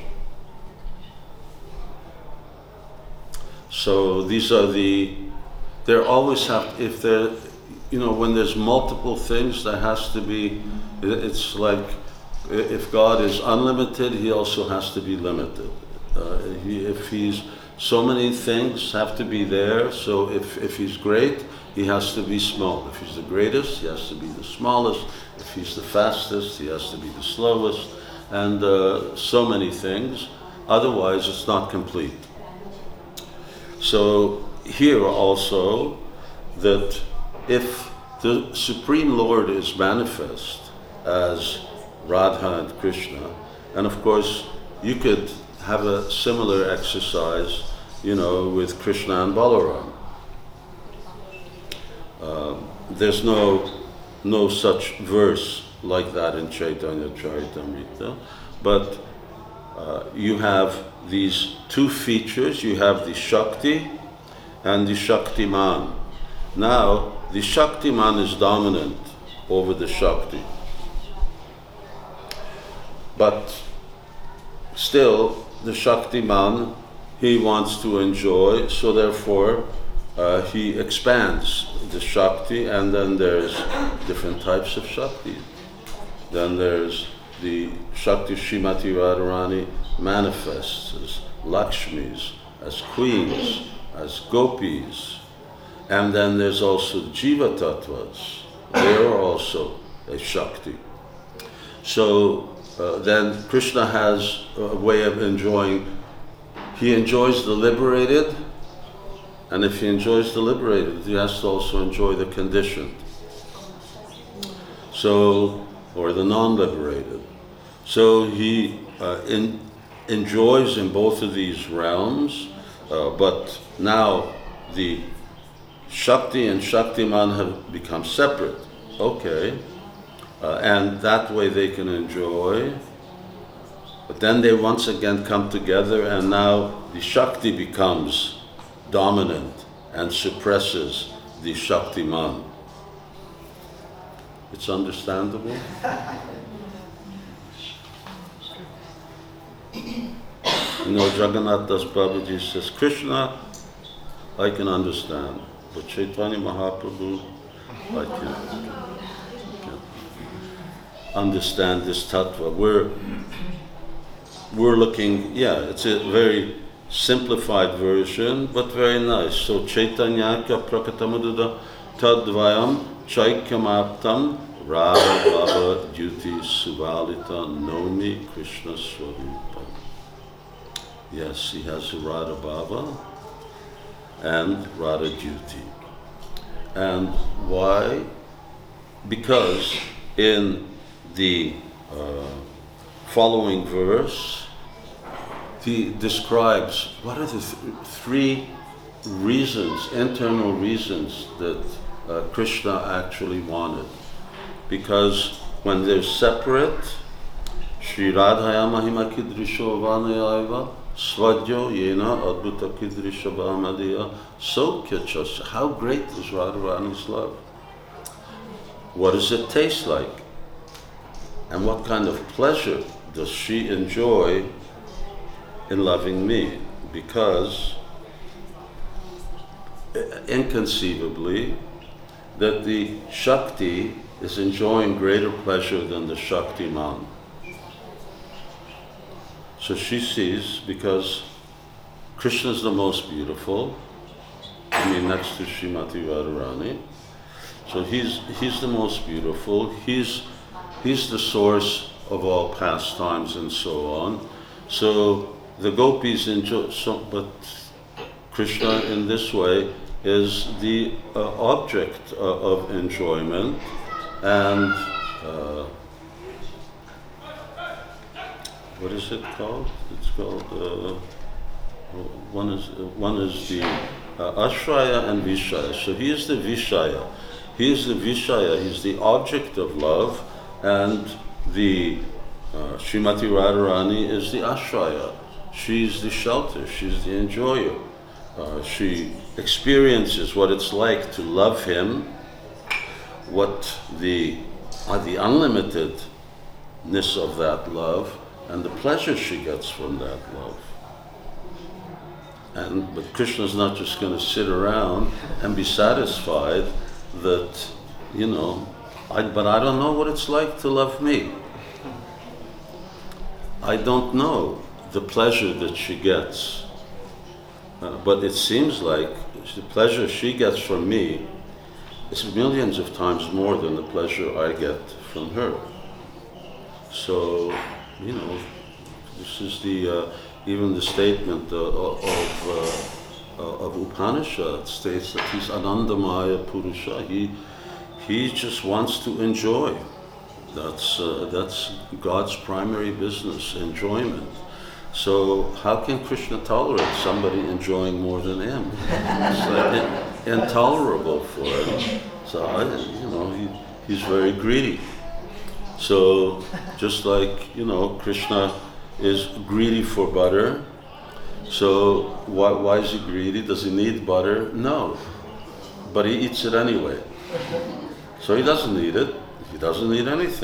So these are the, there always have, if there, you know, when there's multiple things, there has to be, it's like, if God is unlimited, he also has to be limited. Uh, he, if he's, so many things have to be there, so if, if he's great, he has to be small. If he's the greatest, he has to be the smallest. If he's the fastest, he has to be the slowest. And uh, so many things, otherwise it's not complete. So here also, that if the Supreme Lord is manifest as Radha and Krishna, and of course you could have a similar exercise, you know, with Krishna and Balaram. Uh, there's no no such verse like that in Chaitanya Charitamrita, but uh, you have these two features. You have the Shakti and the Shaktiman. Now, the Shaktiman is dominant over the Shakti. but still the Shaktiman, he wants to enjoy, so therefore uh, he expands the Shakti, and then there's different types of Shakti. Then there's the Shakti Srimati Radharani manifests as Lakshmis, as queens, as gopis. And then there's also Jiva Tattvas. They are also a Shakti. So uh, then Krishna has a way of enjoying. He enjoys the liberated, and if he enjoys the liberated, he has to also enjoy the conditioned. So, or the non-liberated. So he uh, in, enjoys in both of these realms, uh, but now the Shakti and Shaktiman have become separate. Okay. Uh, and that way they can enjoy. But then they once again come together, and now the Shakti becomes dominant and suppresses the Shaktiman. It's understandable? You know, Jagannath Das Babaji says, Krishna, I can understand, but Chaitanya Mahaprabhu, I can't, can't understand this tattva. We're, we're looking, yeah, it's a very simplified version, but very nice. So Chaitanyaka Prakatamududa Tadvayam Chaikyamaptam Radha Baba Duty Suvalita Nomi Krishna Swarupa. Yes, he has a Radha Baba and Radha Duty. And why? Because in the uh, following verse, he describes what are the th- three reasons, internal reasons that uh, Krishna actually wanted. Because when they're separate, Shri Radhaya Mahima Kidrisho Vanayaiva Svadyo Yena Adbhuta Kidrisha Bhamadiya Sokyachas. How great is Radharani's love? What does it taste like? And what kind of pleasure does she enjoy in loving me? Because inconceivably that the Shakti is enjoying greater pleasure than the Shaktiman. So she sees, because Krishna is the most beautiful, I mean next to Srimati Radharani, so he's he's the most beautiful, he's he's the source of all pastimes and so on. So the gopis enjoy, so, but Krishna in this way is the uh, object uh, of enjoyment, and uh, what is it called? It's called uh, one is one is the uh, Ashraya and Vishaya. So he is the Vishaya. He is the Vishaya. He's the object of love, and the uh, Srimati Radharani is the Ashraya. She's the shelter. She's the enjoyer. Uh, she experiences what it's like to love him, what the uh, the unlimitedness of that love, and the pleasure she gets from that love. And but Krishna's not just going to sit around and be satisfied that, you know, I, but I don't know what it's like to love me. I don't know the pleasure that she gets. Uh, but it seems like the pleasure she gets from me is millions of times more than the pleasure I get from her. So, you know, this is the, uh, even the statement uh, of, uh, uh, of Upanishad states that he's Anandamaya Purusha. He, he just wants to enjoy. That's, uh, that's God's primary business, enjoyment. So how can Krishna tolerate somebody enjoying more than him? It's like in, intolerable for him. So, I, you know, he, he's very greedy. So just like, you know, Krishna is greedy for butter. So why, why is he greedy? Does he need butter? No. But he eats it anyway. So he doesn't need it. He doesn't need anything.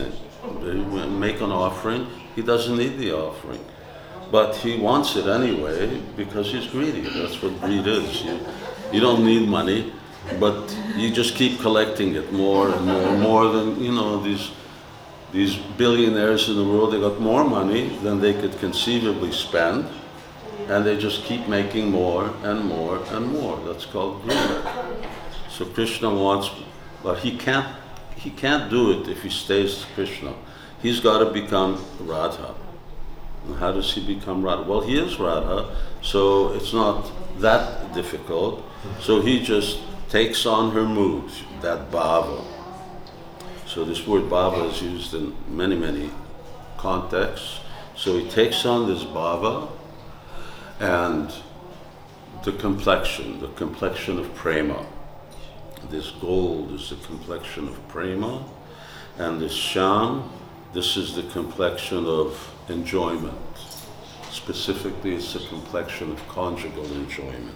They make an offering. He doesn't need the offering, but he wants it anyway because he's greedy. That's what greed is. You, you don't need money, but you just keep collecting it more and more, more than, you know, these these billionaires in the world. They got more money than they could conceivably spend, and they just keep making more and more and more. That's called greed. So Krishna wants, but he can't. He can't do it if he stays Krishna. He's got to become Radha. And how does he become Radha? Well, he is Radha, so it's not that difficult. So he just takes on her mood, that bhava. So this word bhava is used in many, many contexts. So he takes on this bhava and the complexion, the complexion of prema. This gold is the complexion of prema, and this sham, this is the complexion of enjoyment. Specifically, it's the complexion of conjugal enjoyment.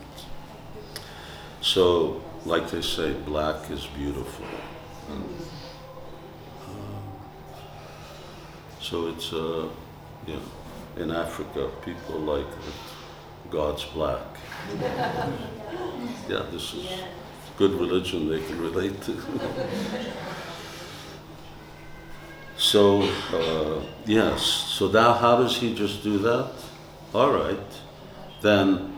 So, like they say, black is beautiful. And, uh, so it's, uh, you know, in Africa, people like that God's black. Yeah, this is good religion they can relate to. So, uh, yes, so now how does he just do that? All right, then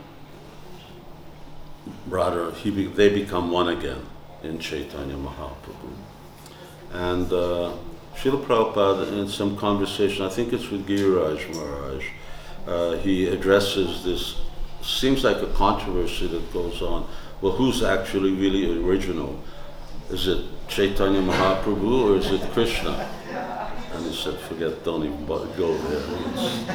rather he be, they become one again in Chaitanya Mahaprabhu. And uh, Srila Prabhupada, in some conversation, I think it's with Giriraj Maharaj, uh, he addresses this, seems like a controversy that goes on. Well, who's actually really original? Is it Chaitanya Mahaprabhu or is it Krishna? And he said, forget, don't even go there.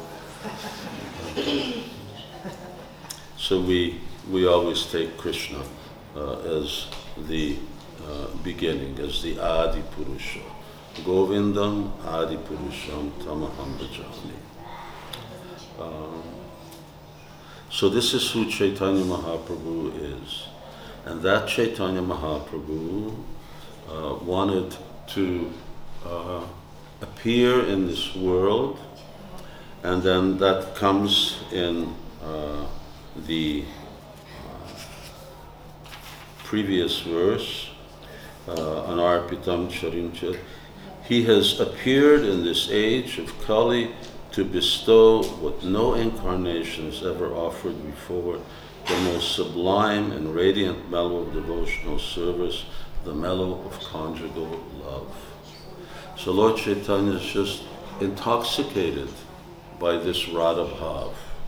So we we always take Krishna uh, as the uh, beginning, as the Adi Purusha. Govindam Adi Purusham Tamaham Bhajami. Um, So this is who Chaitanya Mahaprabhu is. And that Chaitanya Mahaprabhu uh, wanted to uh, appear in this world, and then that comes in uh, the uh, previous verse, uh, Anarpitam Charincha. He has appeared in this age of Kali to bestow what no incarnation has ever offered before, the most sublime and radiant mellow of devotional service, the mellow of conjugal love. So Lord Chaitanya is just intoxicated by this Radha Bhav.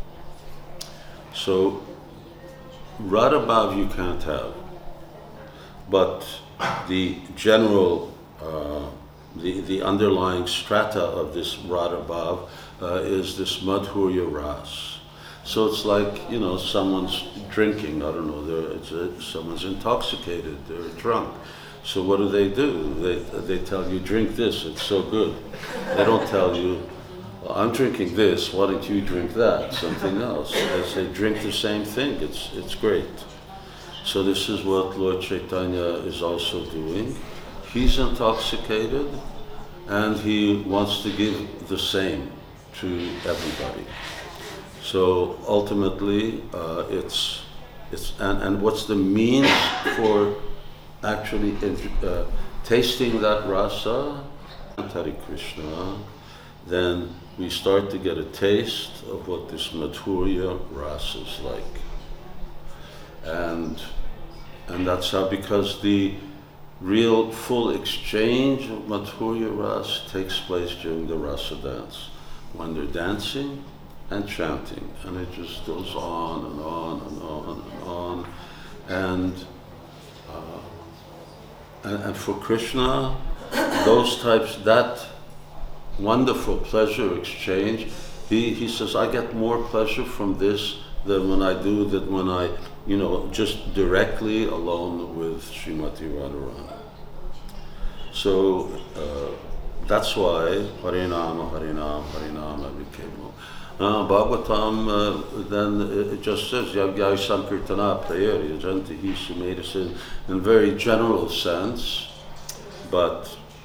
So Radha Bhav you can't have, but the general, uh, the, the underlying strata of this Radha Bhav Uh, is this Madhurya Ras. So it's like, you know, someone's drinking, I don't know, they're, it's a, someone's intoxicated, they're drunk. So what do they do? They, they tell you, drink this, it's so good. They don't tell you, well, I'm drinking this, why don't you drink that, something else. They say, drink the same thing, it's, it's great. So this is what Lord Chaitanya is also doing. He's intoxicated, and he wants to give the same to everybody. So ultimately, uh, it's it's and, and what's the means for actually uh, tasting that rasa, Hare Krishna? Then we start to get a taste of what this Madhurya rasa is like, and and that's how, because the real full exchange of Madhurya rasa takes place during the rasa dance, when they're dancing and chanting, and it just goes on and on and on and on. And, uh, and, and for Krishna, those types, that wonderful pleasure exchange, he, he says, I get more pleasure from this than when I do that when I, you know, just directly alone with Srimati Radharani. So, uh, that's why Harinama, Harinama, Harinama became more. Uh, Bhagavatam uh, then it just says Yagyai Sankirtana Prayer Yajanti Hi Sumedasa in very general sense, but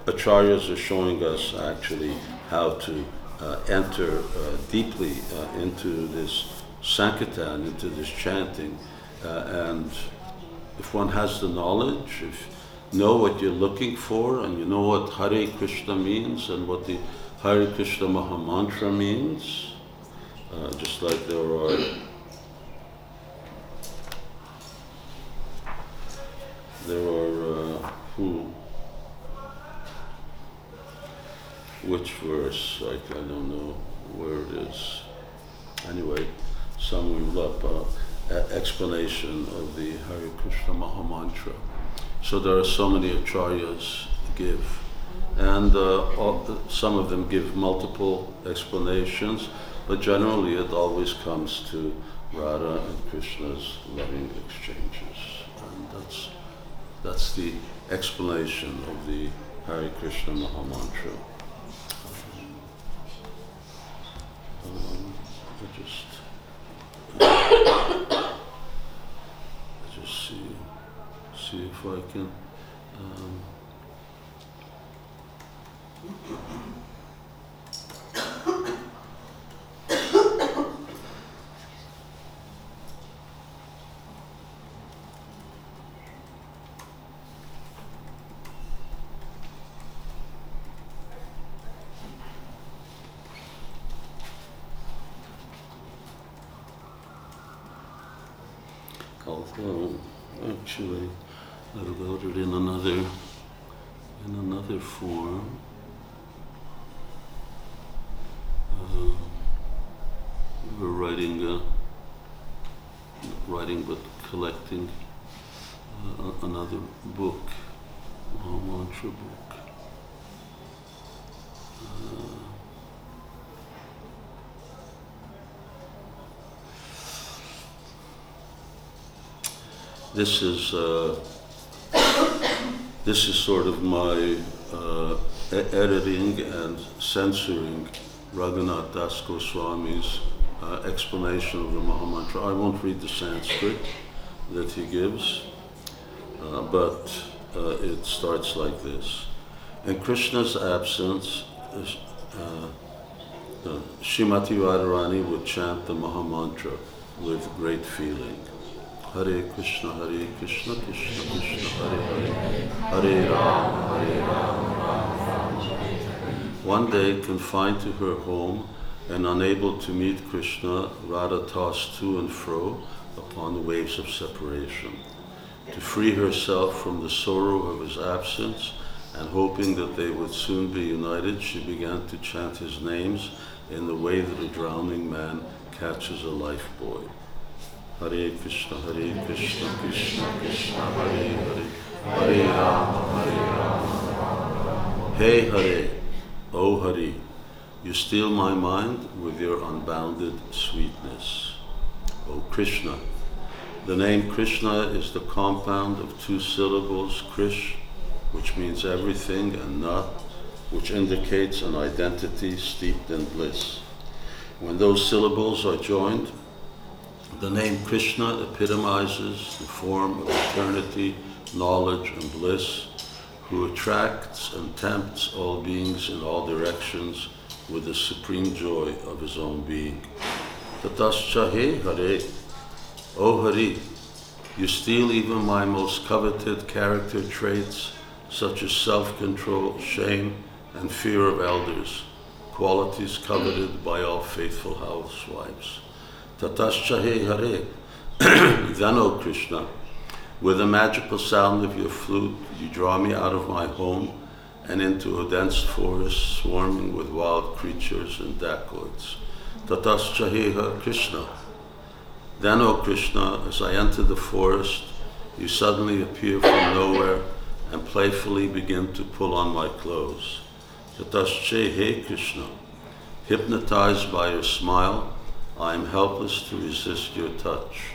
acharyas are showing us actually how to uh, enter uh, deeply uh, into this sankirtan, into this chanting, uh, and if one has the knowledge, if you know what you're looking for, and you know what Hare Krishna means, and what the Hare Krishna Mahamantra means, uh, just like there are there are uh, who which verse, like I don't know where it is. Anyway, some will look up uh, explanation of the Hare Krishna Mahamantra. So there are so many acharyas give, and uh, all, some of them give multiple explanations, but generally it always comes to Radha and Krishna's loving exchanges, and that's that's the explanation of the Hare Krishna Mahamantra. Um, I just I just see see if I can um, although actually I wrote it in another in another form. Uh, we were writing, uh, not writing but collecting uh, another book, a mantra book. Uh, This is uh, this is sort of my uh, e- editing and censoring Raghunath Das Goswami's uh, explanation of the Mahamantra. I won't read the Sanskrit that he gives, uh, but uh, it starts like this. In Krishna's absence, uh, uh, Srimati Radharani would chant the Mahamantra with great feeling. Hare Krishna, Hare Krishna, Krishna Krishna, Hare Hare, Hare Rama, Hare Rama, Rama Rama, Hare Hare. One day, confined to her home and unable to meet Krishna, Radha tossed to and fro upon the waves of separation. To free herself from the sorrow of his absence and hoping that they would soon be united, she began to chant his names in the way that a drowning man catches a lifebuoy. Hare Krishna, Hare Krishna, Krishna Krishna, Hare Hare, Hare Rama, Hare Rama, Rama Rama. Hey Hare, O Hare, you steal my mind with your unbounded sweetness. O Krishna, the name Krishna is the compound of two syllables, Krish, which means everything, and Na, which indicates an identity steeped in bliss. When those syllables are joined, the name Krishna epitomizes the form of eternity, knowledge, and bliss, who attracts and tempts all beings in all directions with the supreme joy of his own being. Tatascha he Hare, O Hare, you steal even my most coveted character traits, such as self-control, shame, and fear of elders, qualities coveted by all faithful housewives. Tatascha he Hare, then O Krishna, with the magical sound of your flute, you draw me out of my home and into a dense forest swarming with wild creatures and dacoits. Tatascha he Hare Krishna. Then, O Krishna, as I enter the forest, you suddenly appear from nowhere and playfully begin to pull on my clothes. Tatascha he Krishna. Hypnotized by your smile, I am helpless to resist your touch.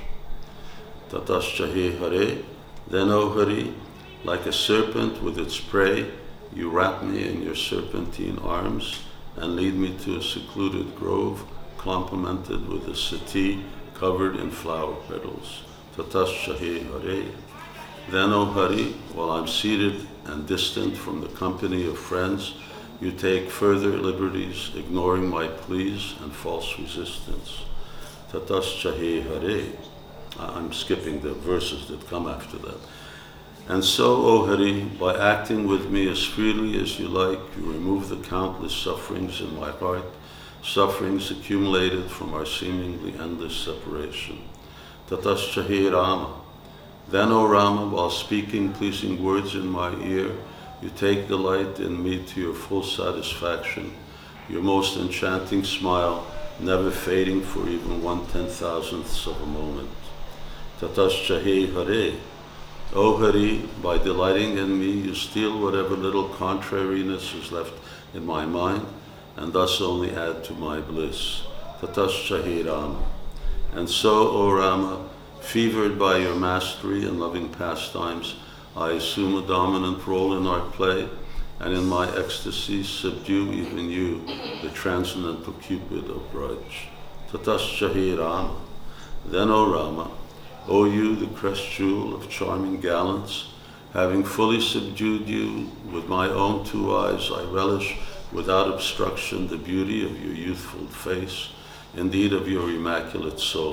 Tatascha he Hare, then O Hare, like a serpent with its prey, you wrap me in your serpentine arms and lead me to a secluded grove, complemented with a settee covered in flower petals. Tatascha he Hare. Then, O Hari, while I'm seated and distant from the company of friends, you take further liberties, ignoring my pleas and false resistance. Tatascha he Hare. I'm skipping the verses that come after that. And so, O Hari, by acting with me as freely as you like, you remove the countless sufferings in my heart, sufferings accumulated from our seemingly endless separation. Tatascha he Rama. Then, O Rama, while speaking pleasing words in my ear, you take delight in me to your full satisfaction, your most enchanting smile, never fading for even one ten-thousandths of a moment. Tatascha he Hare. O Hari, by delighting in me, you steal whatever little contrariness is left in my mind, and thus only add to my bliss. Tatascha he Rama. And so, O Rama, fevered by your mastery and loving pastimes, I assume a dominant role in our play, and in my ecstasy subdue even you, the transcendental Cupid of Braj. Tatascha he Rama. Then, O Rama, O you, the crest jewel of charming gallants, having fully subdued you with my own two eyes, I relish without obstruction the beauty of your youthful face, indeed of your immaculate soul.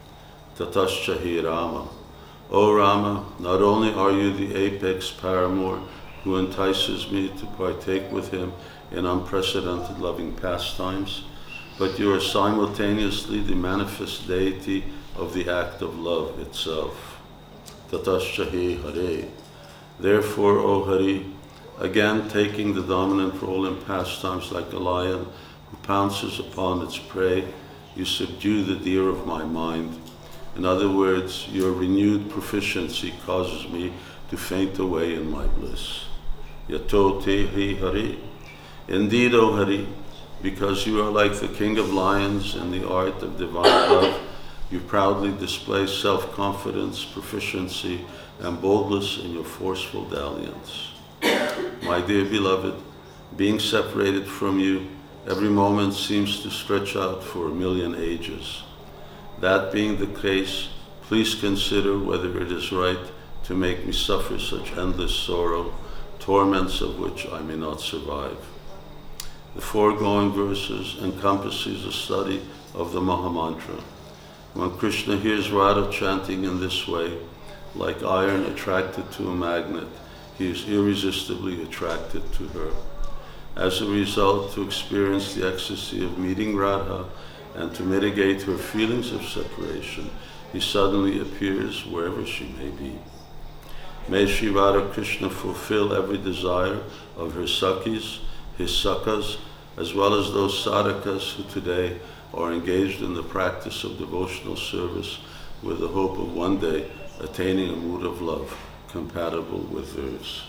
Tatascha he Rama. O Rama, not only are you the apex paramour who entices me to partake with him in unprecedented loving pastimes, but you are simultaneously the manifest deity of the act of love itself. Tatascha he Hare. Therefore, O Hari, again taking the dominant role in pastimes like a lion who pounces upon its prey, you subdue the deer of my mind. In other words, your renewed proficiency causes me to faint away in my bliss. Yato te hi Hari. Indeed, O Hari, because you are like the king of lions in the art of divine love, you proudly display self-confidence, proficiency, and boldness in your forceful dalliance. My dear beloved, being separated from you, every moment seems to stretch out for a million ages. That being the case, please consider whether it is right to make me suffer such endless sorrow, torments of which I may not survive. The foregoing verses encompasses a study of the Mahamantra. When Krishna hears Radha chanting in this way, like iron attracted to a magnet, he is irresistibly attracted to her. As a result, to experience the ecstasy of meeting Radha and to mitigate her feelings of separation, he suddenly appears wherever she may be. May Sri Radha Krishna fulfill every desire of her Sakhis, his Sakhas, as well as those sadhakas who today are engaged in the practice of devotional service with the hope of one day attaining a mood of love compatible with theirs.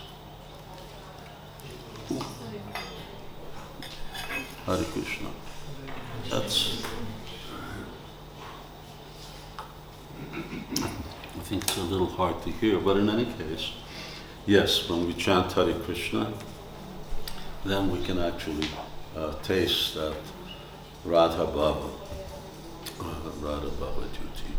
Hare Krishna. That's, I think it's a little hard to hear, but in any case, yes, when we chant Hare Krishna, then we can actually uh, taste that Radha Bhava, uh, Radha Bhava duty.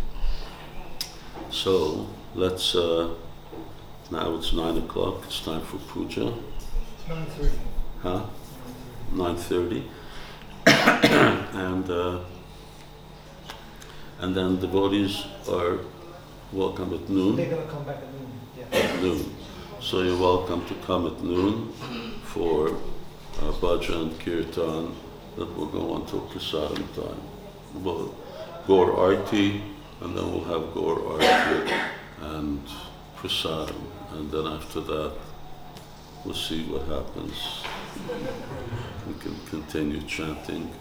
So let's, uh, now it's nine o'clock, it's time for puja. nine thirty. Huh? nine thirty. and, uh, and then devotees are welcome at noon. They're going to come back at noon. Yeah. At noon. So you're welcome to come at noon for uh, bhajan, kirtan, that will go until prasadam time. We'll Gaur Arti, and then we'll have Gaur Arti and prasadam, and then after that we'll see what happens. We can continue chanting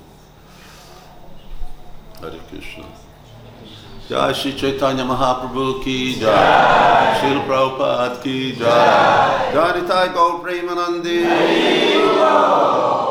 Hare Krishna. Jai Shri Chaitanya Mahaprabhu ki jai, Srila Prabhupada ki jai, Jai Nitai Gaur Premanandi.